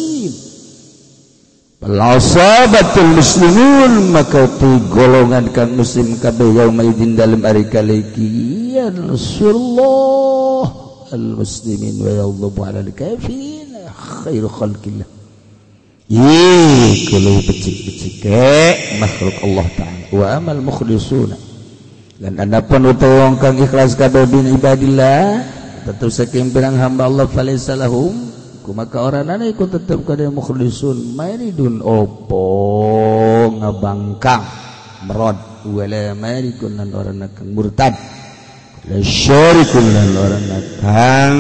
Al-asabatul muslimun maka tu golongan kang muslim kabeh yauma idin dalem ari kaliki yansurullah al-muslimin wa yadhabu 'alal kafirin khairu khalqillah. Kalau becik-becik makhluk Allah ta'ala wa amal mukhlisuna dan adapun utawa wong kang ikhlas kabeh bin ibadillah tetep saking pirang hamba Allah falaysa lahum maka orangana iku tetep kada mukhlisun maridun opo ngabangkang merod wala marikun lan orangna kang murtad la syarikun lan orangna kang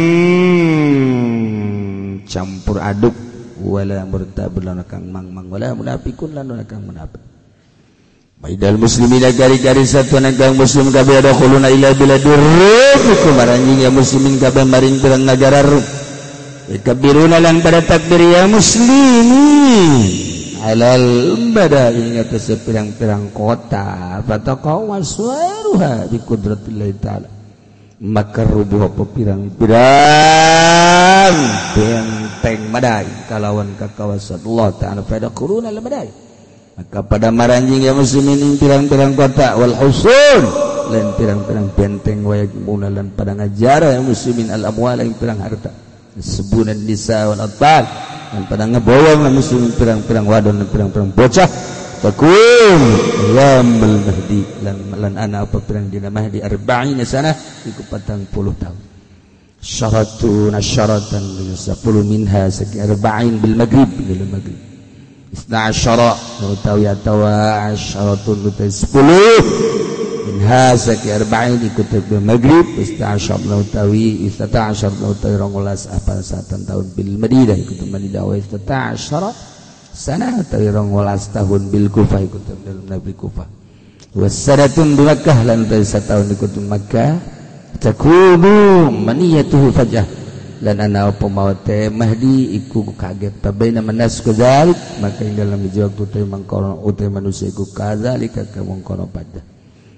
campur aduk wala murtad lan kang mang-mang wala munafiqun lan orangna kang munafik. Baidal muslimina gari-gari satu nagang muslim kabeh ada khuluna ila biladir rum maranjing ya muslimin kabeh maring pirang nagara rum. Kabiruna lan pada takbir ya muslimin alal badai atas pirang-pirang kota fataqaw waswaruha bi qudratillah ta'ala maka rubuh apa pirang-pirang benteng madai kalawan kakawasan Allah ta'ala pada quruna al madai maka pada maranjing ya muslimin pirang-pirang kota wal husun lan pirang-pirang benteng wayak munalan pada ngajara ya muslimin al amwal yang pirang harta sebunan nisa wal atfal dan pada ngeboyong na muslim pirang-pirang wadon dan pirang-pirang bocah takum yamul mahdi lan ana apa pirang dina mahdi 40 sana iku 40 tahun syaratun syaratan 10 minha saki 40 bil maghrib bil maghrib 12 utawi atawa syaratun 10 minha saki 40 ikut bil maghrib 12 utawi 12 apa satan tahun bil madinah ikut madinah wa 12 sana utawi 12 tahun bil kufah ikut dalam nabi kufah wasadatun bi makkah lan utawi satahun ikut makkah takunu maniyatuhu fajah lan ana apa maute mahdi iku kaget tabaina manas kadzalik maka ing dalam dijawab utawi mangkono utawi manusia iku kadzalika kamangkono pada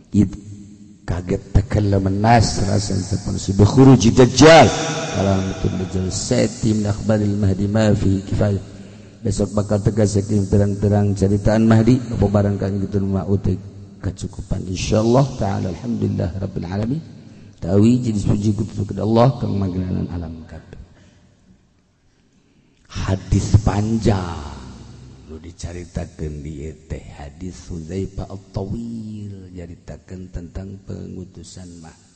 kaget takallama nas rasan sepun si khuruj dajjal kalau betul dajjal seti min akhbaril mahdi ma fi kifayah besok bakal tegas saking terang-terang ceritaan mahdi apa barang kang gitu ma utek kecukupan insyaallah taala alhamdulillah rabbil alamin tawi jadi puji kepada Allah kang magnanan alam kabeh. Hadis panjang nu dicaritakeun di teh hadis Hudzaifah at-Tawil caritakeun tentang pengutusan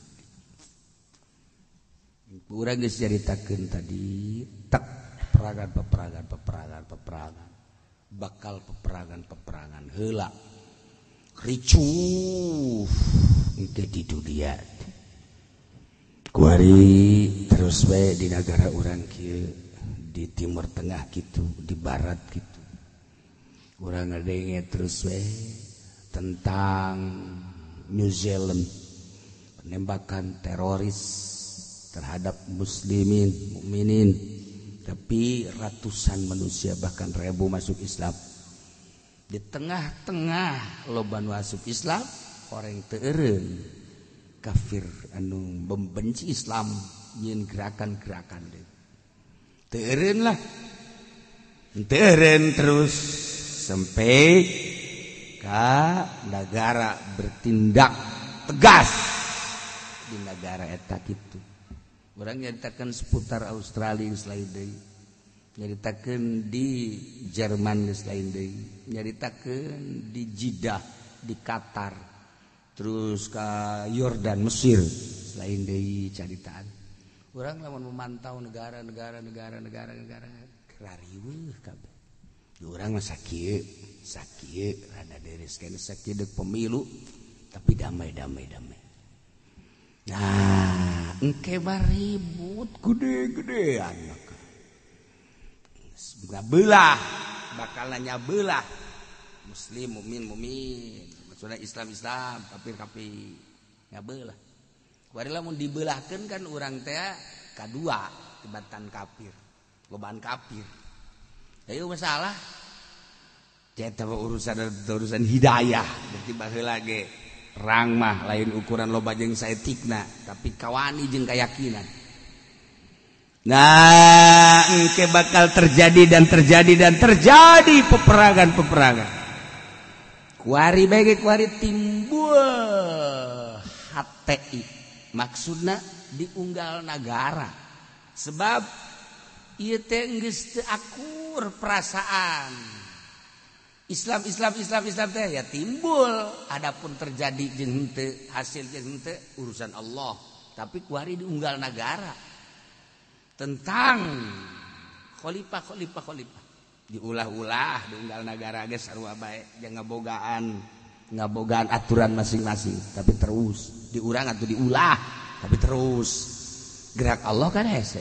Mahdi. Urang geus caritakeun tadi tak peperangan bakal peperangan heula ricuh engke di dunia. Kuari terus bae di negara urang kieu di timur tengah gitu, di barat gitu. Urang ngadenge terus we tentang New Zealand penembakan teroris terhadap muslimin mukminin tapi ratusan manusia bahkan ribu masuk Islam di tengah-tengah loba masuk Islam orang teu eureun kafir anu membenci Islam nyin gerakan-gerakan teu eureun lah teu eureun terus sampai ka negara bertindak tegas di negara eta kitu. Urang nyaritakeun seputar Australia selain deui. Nyaritakeun di Jerman selain deui. Nyaritakeun di Jeddah, di Qatar. Terus ka Yordan, Mesir selain deui caritaan. Urang lamun memantau negara rariweuh kabeh urang mah sakieu rada deres kana sakieu deuk pemilu tapi damai. Nah, engke ribut gede-gedean maka. Belah, bakal nanya belah. Muslim, mumin. Maksudnya Islam, kafir. Ngabelah. Kuari lamun dibelahkeun kan urang teh kadua tibatan kafir. Lobaan kafir. Ayo masalah. Eta urusan hidayah, berarti baheula ge rang mah lain ukuran loba jeung saetikna, tapi kawani jeung keyakinan. Nah, engke bakal terjadi peperangan. Kuari timbul HTI. Maksudna diunggal negara. Sebab ieu teh geus teu akur perasaan. Islam teh ya timbul, adapun terjadi jeung henteu hasil jeung henteu urusan Allah, tapi kuari diunggal negara tentang khalifah diulah-ulah diunggal negara ge sarua bae jeung ngabogaan aturan masing-masing, tapi terus diurang atau diulah tapi terus gerak Allah kan hese.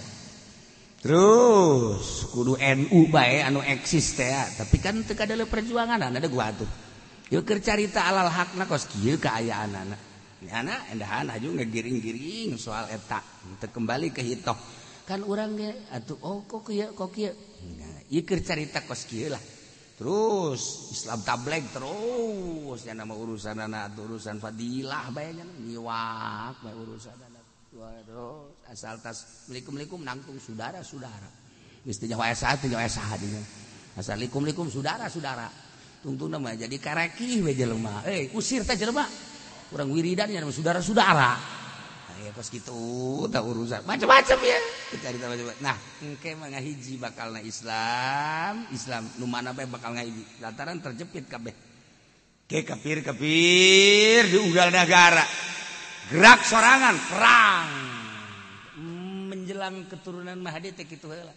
Terus kudu NU bae anu eksis teh, tapi kan teu kadale perjuangan ada gua atuh. Yeuh keur carita alal hakna kos kieu kaayaanana. Nyana endahan aju ngegiring-giring soal eta, teu kembali ke hitoh. Kan urang ge atuh kok kieu. Nah, ieu keur carita kos kieu lah. Terus Islam tabligh terus nya nama urusanana urusan fadilah bae nya nyiwak bae urusanana. Waduh, asal tas likum nangtung saudara geus teh nyawa saha dinya asal likum saudara tungtungna mah jadi karekih we jelema usir teh jelema urang wiridan nya saudara aya kos kitu tah urusan macam-macam ya carita macam. Nah engke mah ngahiji bakalna Islam nu mana bae bakal ngahiji lantaran terjepit kabeh ke kafir diunggal negara. Gerak sorangan perang menjelang keturunan Mahdi teh kitu heula.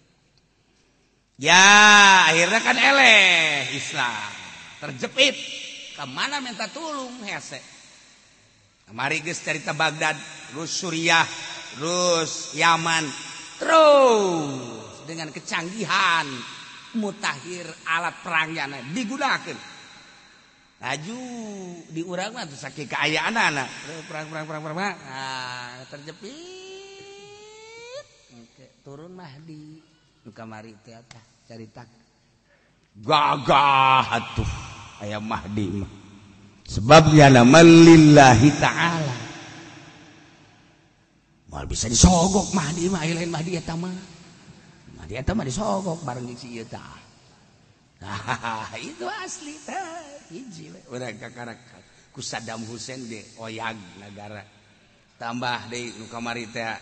Ya akhirnya kan eleh Islam terjepit ka mana minta tulung hese. Mari geus carita Baghdad, terus Suriah, terus Yaman, terus dengan kecanggihan mutakhir alat perangnya digunakeun. Laju di urang mah saking kaayaanana perang. Nah, terjepit. Oke, turun Mahdi. Nu kamari teh tah carita. Gagah atuh aya Mahdi mah. Sebabnya nama lillahi ta'ala. Moal bisa disogok Mahdi mah lain Mahdi eta mah. Mahdi eta mah disogok bareng si ieu tah. Nah, itu asli tah. Hiji we urang kakarak ku Saddam Hussein de oyag negara. Tambah deui nu kamari teh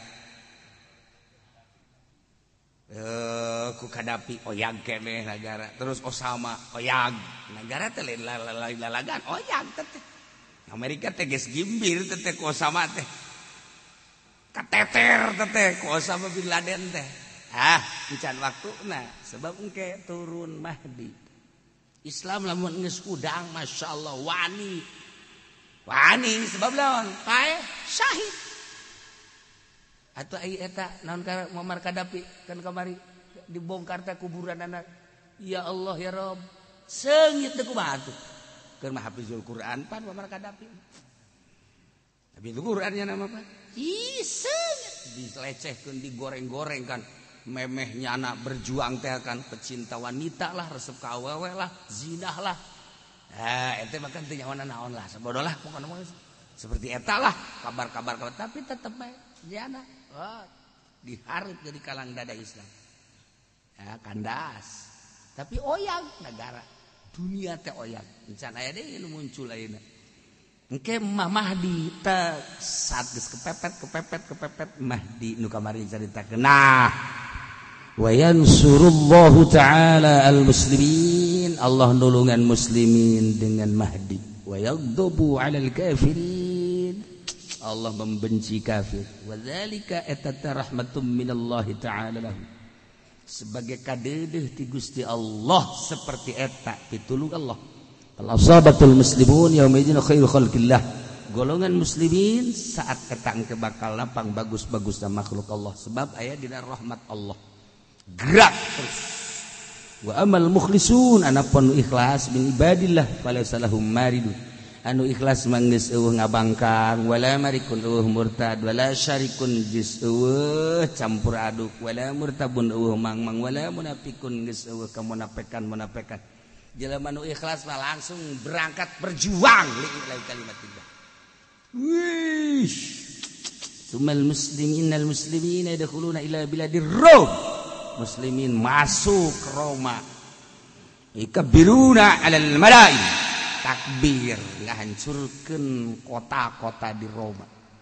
ku Qaddafi oyag keneh negara. Terus Osama oyag negara teh lain lalagan oyag teh. Amerika teh geus gimbir teh ku Osama teh. Kateter teh ku Osama bin Laden teh. Encan waktuna sebab engke turun Mahdi. Islam lamun geus udang masyaallah wani sebab lawan pae syahid atuh ai eta naon ka Muammar Qaddafi kan kamari dibongkar teh kuburan anak ya Allah ya Rabb seungit teh kumaha atuh keur mah hafizul Quran pan Muammar Qaddafi tapi itu Qurannya nama apa seungit dilecehkeun digoreng-goreng kan memehnya anak berjuang teh kan pecinta wanita lah resep ka awewe lah zinah lah ente makan teu nyawana naon lah sabodoh lah pokona seperti eta lah kabar tapi tetep bae jana diharap jadi kalang dada Islam kandas tapi oyang negara dunia teh oyang encan aya deui nu muncul ayeuna engke Mahdi teh saat geus kepepet Mahdi nu kamari caritakeun nah wa yansurullahu ta'ala al-muslimin Allah nulungan muslimin dengan Mahdi wa yaghdabu 'alal kafirin Allah membenci kafir wa dzalika rahmatun minallahi ta'ala lahum sebagai kadeudeung ti Gusti Allah seperti eta pitulung Allah. Al-asabatul muslimun yauma idzin khairu khalqillah. Golongan muslimin saat eta engke bakal lapang bagus-bagus dan makhluk Allah sebab aya dina rahmat Allah. Gerak terus. Wa amal mukhlisun anapun ikhlas min ibadillah falaysa lahum maridun. Anu ikhlas manggeus eueuh ngabangkang wala marikun eueuh murtad wala syarikun geus eueuh campur aduk wala murtabun eueuh mangmang wala munafikun geus eueuh kamunafikan. Jelema nu ikhlas mah langsung berangkat berjuang lillahi kalimatillah. Wih. Sumal innal muslimina yadkhuluna ila biladir Rom. Muslimin masuk ke Roma. Ikabiruna 'alal mala'i. Takbir ngahancurkeun kota-kota di Roma.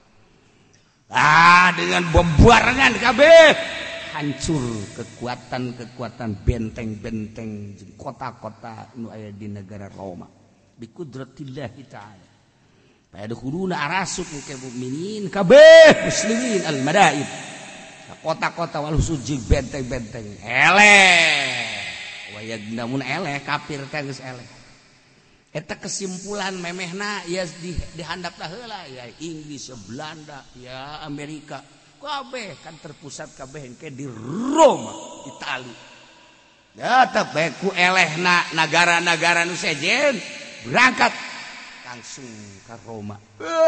Dengan bombardan kabeh hancur kekuatan benteng-benteng kota-kota nu aya di negara Roma bi qudratillah taala. Fayadkhuluna arasuk ke mukminin kabeh muslimin al madaib. Kota-kota wal suci benteng-benteng eleh. Wayagnamun eleh kafir teh geus eleh. Eta kesimpulan memehna ya dihandap heula ya Inggris, ya Belanda, ya Amerika. Kabeh kan terpusat kabeh engke di Roma, Itali. Ya tapi ku elehna negara-negara nu sejen berangkat langsung ke Roma.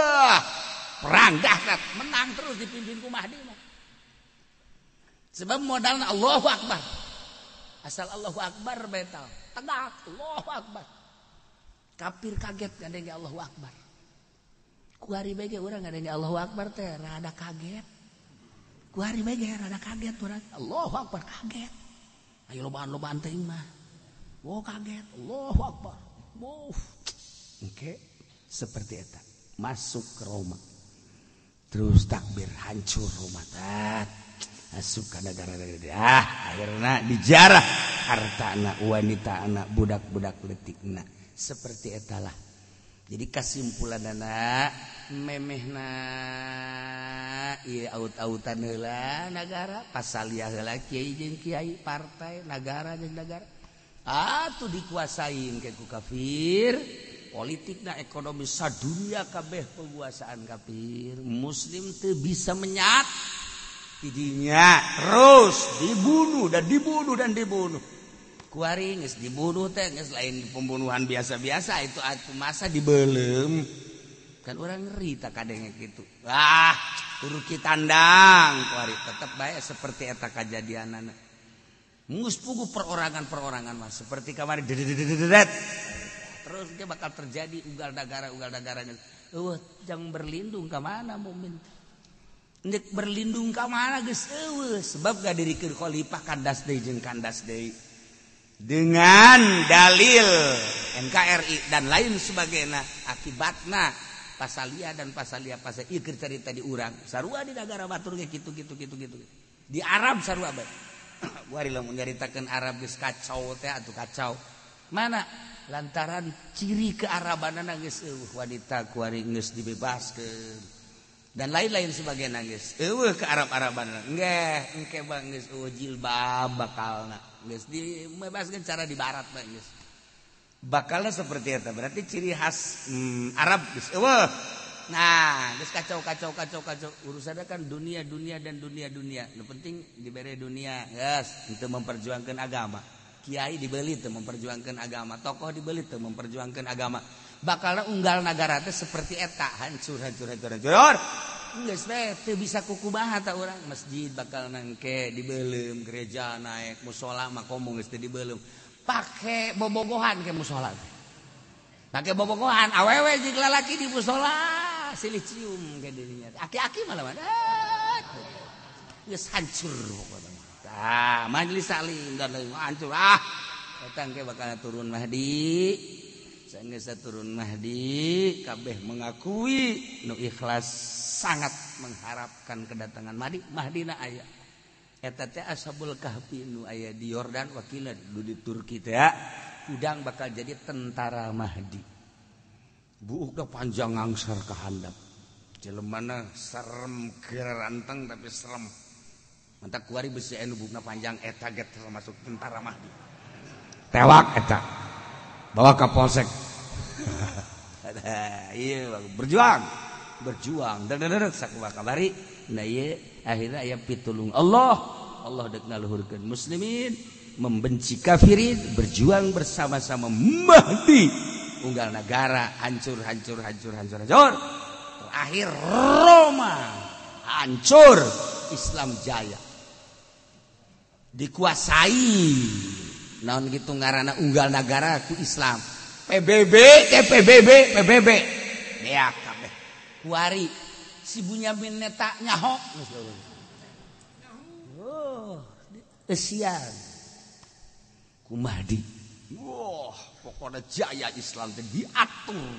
Perang dahsyat, menang terus dipimpin ku Mahdi. Sebab modalna Allahu Akbar. Asal Allahu Akbar betal, tegak Allahu Akbar. Kafir kaget ngadenge Allahu Akbar. Ku hari bege urang ngadenge Allahu Akbar teh rada kaget. Ku hari bege rada kaget urang. Allahu Akbar kaget. Ayo lobaan-lobaan teh mah. Oh kaget. Allahu Akbar. Oke, seperti eta. Masuk ke Roma. Terus takbir hancur Roma tat. Masuk ke negara-negara. Akhirna dijarah hartana, wanitana, budak-budak leutikna. Seperti etalah. Jadi kesimpulan anak memehna ieu aut-autan heula negara pasaliah heula kiai jeung kiai partai negara jeung negara atuh dikuasain ke ku kafir politikna ekonomi sadunia kabeh penguasaan kafir muslim teu bisa menyat tidinya terus dibunuh dan dibunuh kuari geus dibunuh teh geus lain pembunuhan biasa-biasa itu atuh masa dibeulem kan orang ngeri tak kadenge kitu turu kitandang kuari tetep bae seperti eta kajadianana geus puguh perorangan mah seperti kamari terus dia bakal terjadi ugal dagaranya jangan berlindung ka mana mukmin nek berlindung ka mana geus eueuh sebab gadirikeun khalifah kandas deui jeung kandas deui dengan dalil NKRI dan lain sebagainya akibatna pasalia ieu keur carita di urang sarua di negara batur ge kitu di Arab sarua bae wari lamun nyaritakeun Arab geus kacau teh atuh kacau mana lantaran ciri kearabanana geus eueuh wanita kuari geus dibebaskeun dan lain-lain sebagainya geus eueuh ke Arab-Araban nggih engke bang geus eueuh jilbab bakalna geus dibebaskeun cara di barat mah geus bakalna seperti eta berarti ciri khas Arab geus eueuh nah geus kacau urusanna kan dunia nu penting dibere dunia geus henteu memperjuangkeun agama kiai dibeli teu memperjuangkeun agama tokoh dibeli teu memperjuangkeun agama bakalna unggal nagara teh seperti eta hancur geus we teu bisa kukumaha ta urang masjid bakal nangke dibeulem gereja naik mushola makomo geus teu dibeulem pake bobogohan ke mushola pake bobogohan awewe jeung lalaki di mushola silih cium ke dirinya aki-aki malah geus hancur pokona majelis salim dan lain hancur eta engke bakal turun Mahdi saenggeus turun Mahdi kabeh mengakui nu ikhlas sangat mengharapkan kedatangan Mahdina aya eta teh ashabul kahfi nu aya di Yordan wakilna di Turki teh udang bakal jadi tentara Mahdi buukna panjang ngangser ka handap jelemana serem geranteng tapi serem mantap kuari besi anu bukna panjang eta get termasuk tentara Mahdi tewak eta bawa ke polsek iya berjuang dan sakumaha kabari nah ieu akhirna aya pitulung Allah dek ngaluhurkeun muslimin membenci kafirin berjuang bersama-sama Mahdi unggal negara hancur terakhir Roma hancur Islam jaya dikuasai naon gitu ngaranna unggal negara ku Islam PBB beak kabeh kuari si Bunyamin eta nyaho esian ku Mahdi pokoknya jaya Islam diatur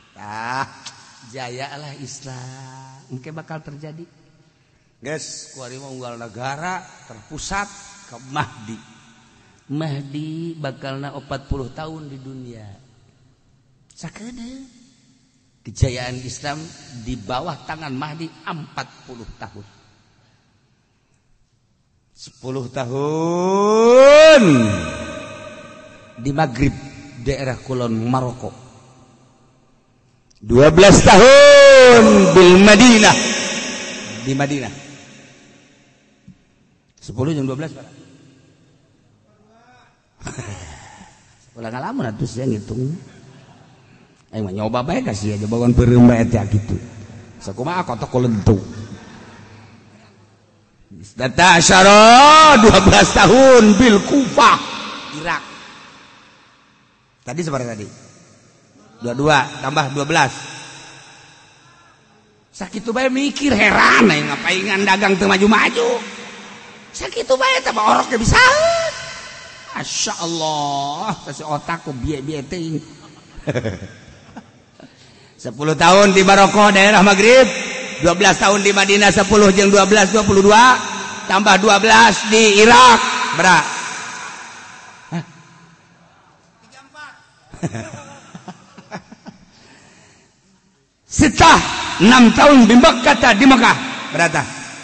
jaya lah Islam mungkin bakal terjadi guys kuari mah unggal negara terpusat ke Mahdi bakalna 40 tahun di dunia sakedeung kejayaan Islam di bawah tangan Mahdi 40 tahun 10 tahun di Maghrib daerah kulon Maroko 12 tahun di Madinah 10 jam 12 Pak ulah ngalamun atuh sia ngitung aing mah nyoba bae kasih aja bawan beureum bae teh gitu sakumaha kotok kulentu data asyara 12 tahun bil Kufah Irak tadi seperti tadi 22 tambah 12 sakitu bae mikir heran aing ngapain dagang teu maju-maju sakitu bae teh orok ge bisa Masya Allah kasih otakku biaya ting 10 tahun di Maroko daerah Maghrib 12 tahun di Madinah 10 jeung 12 22 tambah 12 di Irak berapa? 34 setelah 6 tahun di Mekah berapa?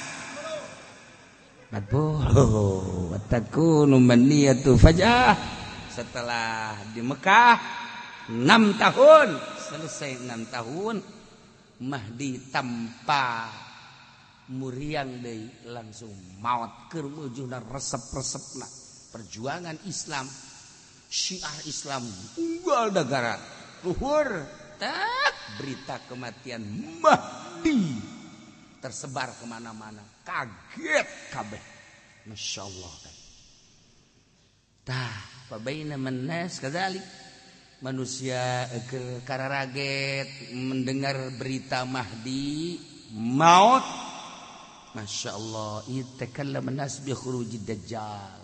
40 watakunu maniyatu fajah setelah di Mekah 6 tahun selesai 6 tahun Mahdi tanpa muriang deui langsung maot keur wujudna resep-resepna perjuangan Islam syiar Islam unggal negara luhur tak berita kematian Mahdi tersebar kemana-mana kaget kabeh Masya Allah kan tah pabaina mannas kadzalik manusia kararaget mendengar berita Mahdi maut Masya Allah itakallama nas bi khurujid dajjal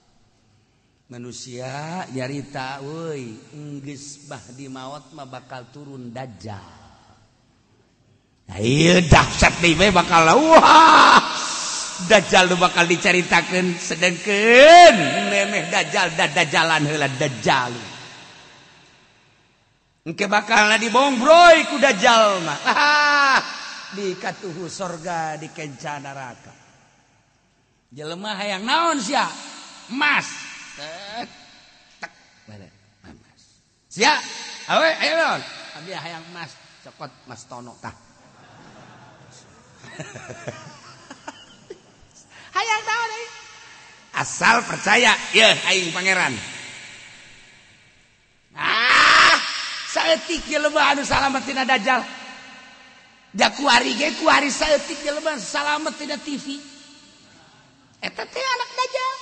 manusia nyarita euy geus Mahdi maut mah bakal turun dajjal ieu dahsyat deui bakal wah Dajjal nu bakal dicaritakeun sedengkeun memeh Dajjal dajalan heula Dajjal engke bakalna dibongbroy ku Dajjal mah di katuhu sorga di kenca neraka jelema hayang naon sia emas tek emas sia awe ayo naon abi hayang emas cokot Mas Tono tah hayang tahu deh asal percaya ya aing pangeran saeutik jelema anu salamet tina dajjal da kuari ge kuari saeutik jelema salamet tina TV eta teh anak dajjal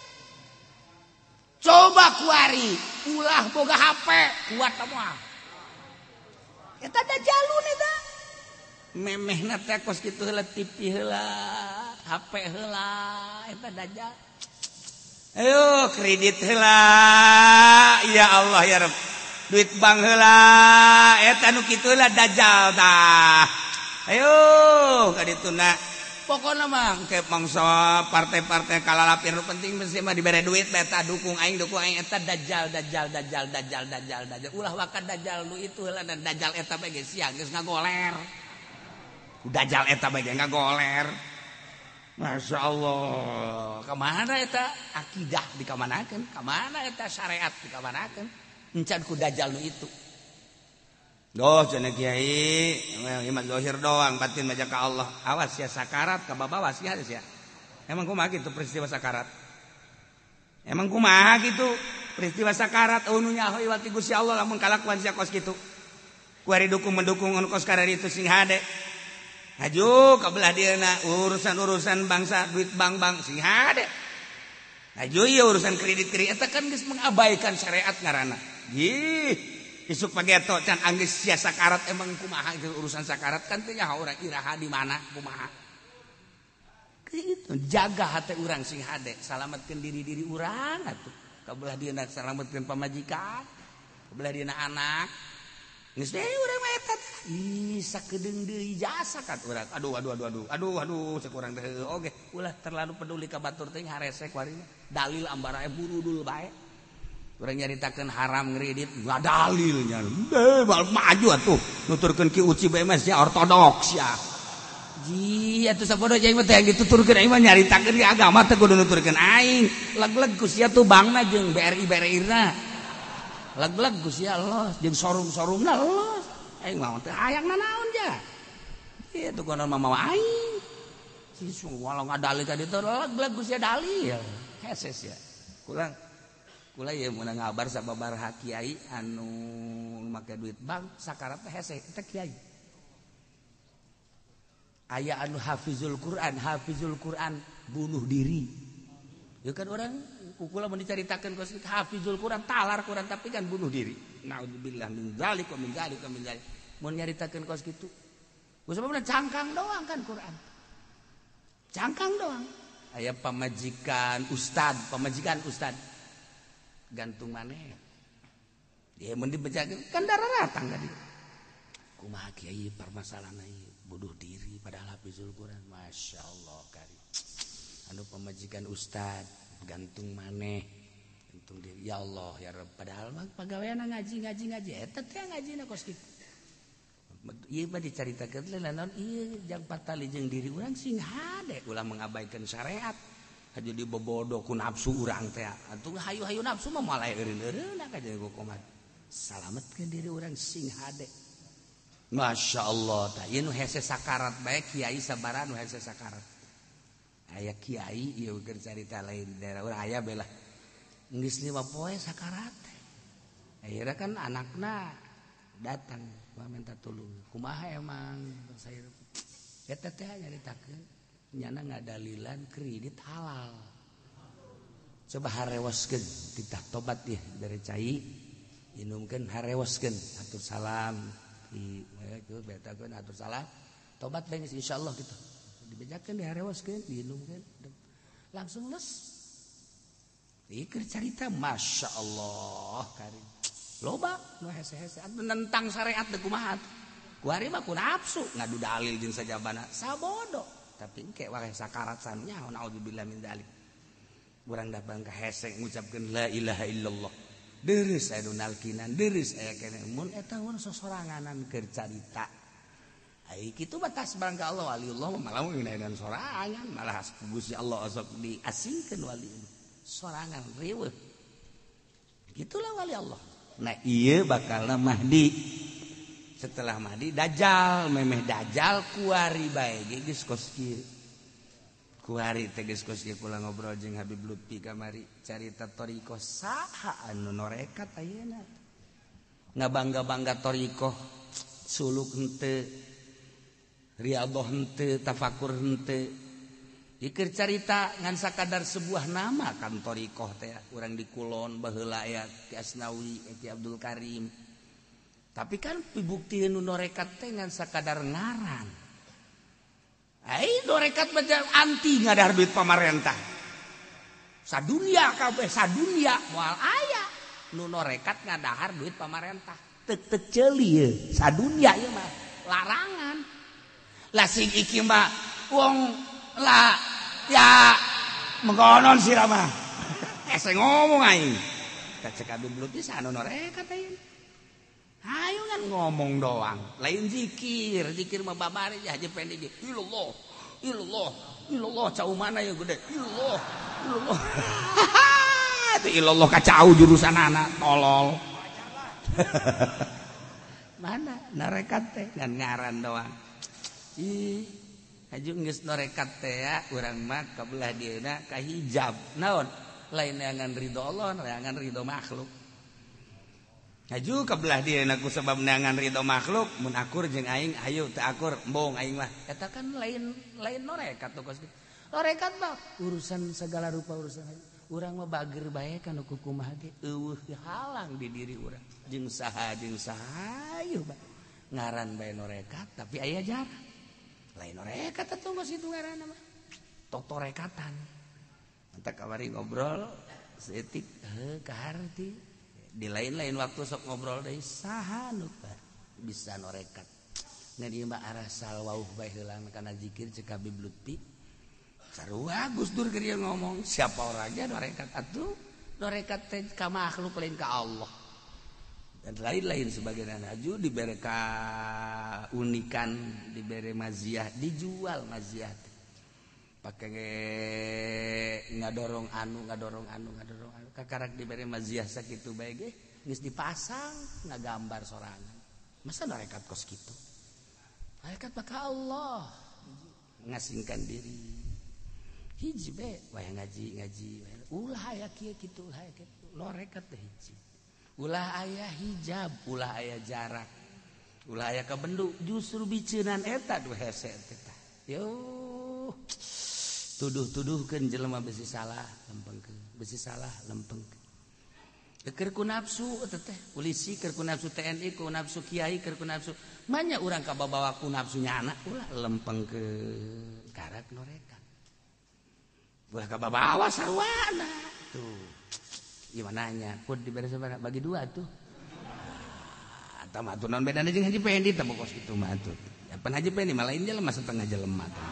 coba kuari ulah boga HP kuat moal eta dajjalun eta memehna teh kos kitu heula TV heula HP heula eta dajjal ayo kredit heula ya Allah ya Rabb duit bank heula eta nu kitu heula dajjal tah ayo ka dituna pokona mah ke mangsa partai-partai kalalapir nu penting mesti mah dibere duit eta dukung aing eta dajjal ulah wakat dajjal nu itu heula dan dajjal eta bae geus sia geus ngagoler dajjal eta bae ngagoler Masya Allah. Kemana eta akidah dikamanakeun? Kemana eta syariat dikamanakeun? Encan ku dajjal nu itu. Doh cenah kiai, iman zahir doang, batin mah ka Allah. Awas ya sakarat ka babawas ya ya. Emang kumaha kitu peristiwa sakarat? Emang kumaha kitu peristiwa sakarat nu nyaho iwal ti Gusti Allah lamun kalakuan sia kos kitu. Ku ari dukung mendukung anu kos karari itu sing hade. Aju kabelah dieuna urusan-urusan bangsa duit bank sing hade. Aju ieu urusan kredit eta kan geus mengabaikan syariat ngaranna. Ih, isuk pageto can anggeus sia sakarat emang kumaha itu urusan sakarat kan teh nyaho urang iraha di mana kumaha. Kitu jaga hate urang sing hade, salametkeun diri-diri urang atuh. Kabelah dieuna salametkeun pamajikan, kabelah dieuna anak. Geus we urang mah eta ih sakedeung deui jasa kat urang. Aduh cek urang teh oge ulah terlalu peduli ka batur teh haresek warina. Dalil ambarae burudul bae. Urang nyaritakeun haram ngredit enggak dalilnya. Maju atuh nuturkeun ki uci bae mah sia ortodoks ya. Ji atuh sapodo jeung teh dituturkeun aing mah nyaritakeun agama teh kudu nuturkeun aing. Leg-leg ku sia tuh bangna jeung BRI-na. Leg-leg Gusti Allah jeung sorum-sorumna Allah. Aing mah teh hayangna naon ja. Ieu konon mama aing. Si walau ngadalil ka ditu leg-leg Gusti dalil. Heses ya. Kula ieu mun ngabar sababaraha kiai anu make duit bank sakarat teh hese teh kiai. Aya anu hafizul Quran bunuh diri. Ya kan orang kukula mun dicaritakeun ku hafizul Quran talar Quran tapi kan bunuh diri. Naudzubillah min dzalik wa min dzalik wa min dzalik. Mun nyaritakeun kos kitu. Ku sababna cangkang doang kan Quran. Cangkang doang. Aya pamajikan ustad gantung maneh. Ya mun dibejakeun kan dararatang ka dieu. Kumaha kiai permasalahan ieu bunuh diri padahal hafizul Quran. Masyaallah kari. Anu pamajikan ustad gantung maneh gantung diri ya Allah ya Rabb padahal mah pagaweana ngaji eta teh ngajina kos kitu ieu mah dicaritakeun teh naon ieu jang patali jeung diri urang sing hade ulah mengabaikan syariat haju dibobodo ku nafsu urang teh atuh hayu-hayu nafsu mah malah eureun-eureun ka jeung komat salametkeun diri urang sing hade masyaallah tah ieu nu hese sakarat bae kiai sabaraha nu hese sakarat aya kiai ieu keur carita lain daerah urang aya belah geus 5 poe sakarat akhirna kan anakna datang minta tolong kumaha emang saya eta teh nyaritakeun nyana ngadalilan kredit halal coba harewaskeun titah tobat ya dari cai inumkeun harewaskeun atur salam itu betakeun atur salam tobat bae insyaallah kitu dibejakeun diharewaskeun diinumkeun langsung les ieu keur carita masyaallah karim loba nu hese-hese tentang syariat teh kumaha ku ari mah ku nafsu ngadu dalil jeung sajabana sabodo tapi engke wae sakarat sanunya naudzubillah min dzalik urang da bangka hese ngucapkeun la ilaha illallah deureus aya nu nalkinan deureus aya keneh mun eta mun sosoranganan keur carita ai kitu batas barangka Allah waliullah malah ngeunaan sorangan malah Gusti Allah sok diasingkeun wali sorangan riweuh gitulah wali Allah. Nah ieu bakalna Mahdi setelah Mahdi Dajjal memeh Dajjal kuari bae geus kos kieu kuari teh geus kos kieu kula ngobrol jeung Habib Lutfi kamari carita thariqah saha anu norekat ayeuna ngabangga-bangga thariqah suluk henteu riyadhah henteu tafakur henteu ikir carita ngan sakadar sebuah nama kan thariqah teh urang di Kulon baheula aya Ki Asnawi Ki Abdul Karim tapi kan pibukti nu norekat teh ngan sakadar ngaran ai norekat baca anti ngadahar duit pamarentah sadunya kabeh sadunya moal aya nu norekat ngadahar duit pamarentah teu ceuli ieu sadunya ieu mah larangan lah sing iki mah wong lah ya mengkonon sira mah ese ngomong aing tak cek Habib Lutfi sanu norekat ayeuna hayu kan ngomong doang lain zikir mah babari haji pendek illallah ilallah cau mana ya gede ilallah itu ilallah kacau jurusan anak tolol mana narekat teh ngan ngaran doang ih aju geus narekat teh ya urang mah kabelah dieuna ka hijab naon lain neangan ridho Allah neangan ridho makhluk aju kabelah dieuna ku sabab neangan ridho makhluk mun akur jeung aing ayo teu akur embong aing mah eta kan lain narekat tuh kos narekat mah urusan segala rupa urusan urang mah bager bae kana ku kumaha ge eueuh halang di diri urang jeung saha ayo ba ngaran bae narekat tapi aya jarak lain narekat atuh geus itu ngaranna mah totorekatan anta kamari ngobrol seetik kaharti di lain-lain waktu sok ngobrol deui saha nu bisa narekat ngan ieu mah arah salwauh bae heulang kana zikir ceuk Habib Lutfi sarua Gus Dur keur ieu ngomong siapa orangnya narekat atuh narekat teh ka makhluk lain ka Allah dan lain-lain sebagainya aju dibere ka unikan dibere maziah dijual maziah pakai ngadorong anu kakarak dibere maziah sakitu bae ge geus dipasang ngagambar sorangan masa narekat kos kitu narekat maka Allah ngasingkan diri hiji bae wayang ngaji ulah aya kieu kitu ulah aya kitu narekat teh hiji ulah aya hijab ulah aya jarak ulah aya kabendu justru biceunan eta dua hese eta yo tuduh-tuduhkeun jelema besi salah lempengkeun keur ku nafsu eta teh polisi keur ku nafsu TNI ku nafsu kiai keur ku nafsu manya urang kababawa ku nafsunya anak ulah lempengkeun karak narekat ulah kababawa sarwana tuh gimana nya pun diberi sabaraha bagi dua tuh eta mah atuh naon bedana jeung Haji Pendi teh pokos kitu mah atuh ya pan Haji Pendi mah lain jelema setengah jelema teh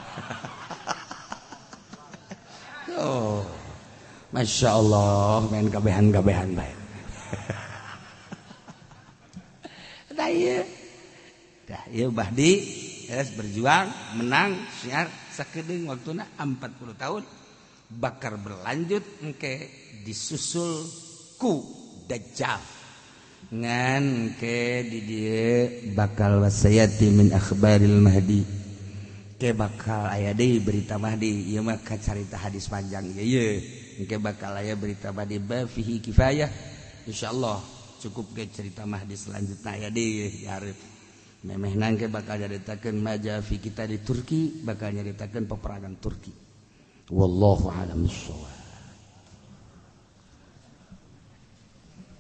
oh Masya Allah main gabehan bae dah ieu Bahdi geus berjuang menang siar sakedeung waktuna 40 tahun bakar berlanjut engke disusul ku Dajjal ngan ke di dieu bakal wasayati min akhbaril mahdi ke bakal aya deui berita mahdi ieu mah carita hadis panjang ieu engke bakal aya berita mahdi ba fihi kifayah insyaallah cukup ge cerita mahdi selanjutna aya deui hareup memehna engke bakal nyaritakeun maja fi kita di Turki bakal nyaritakeun peperangan Turki wallahu a'lam bissawab.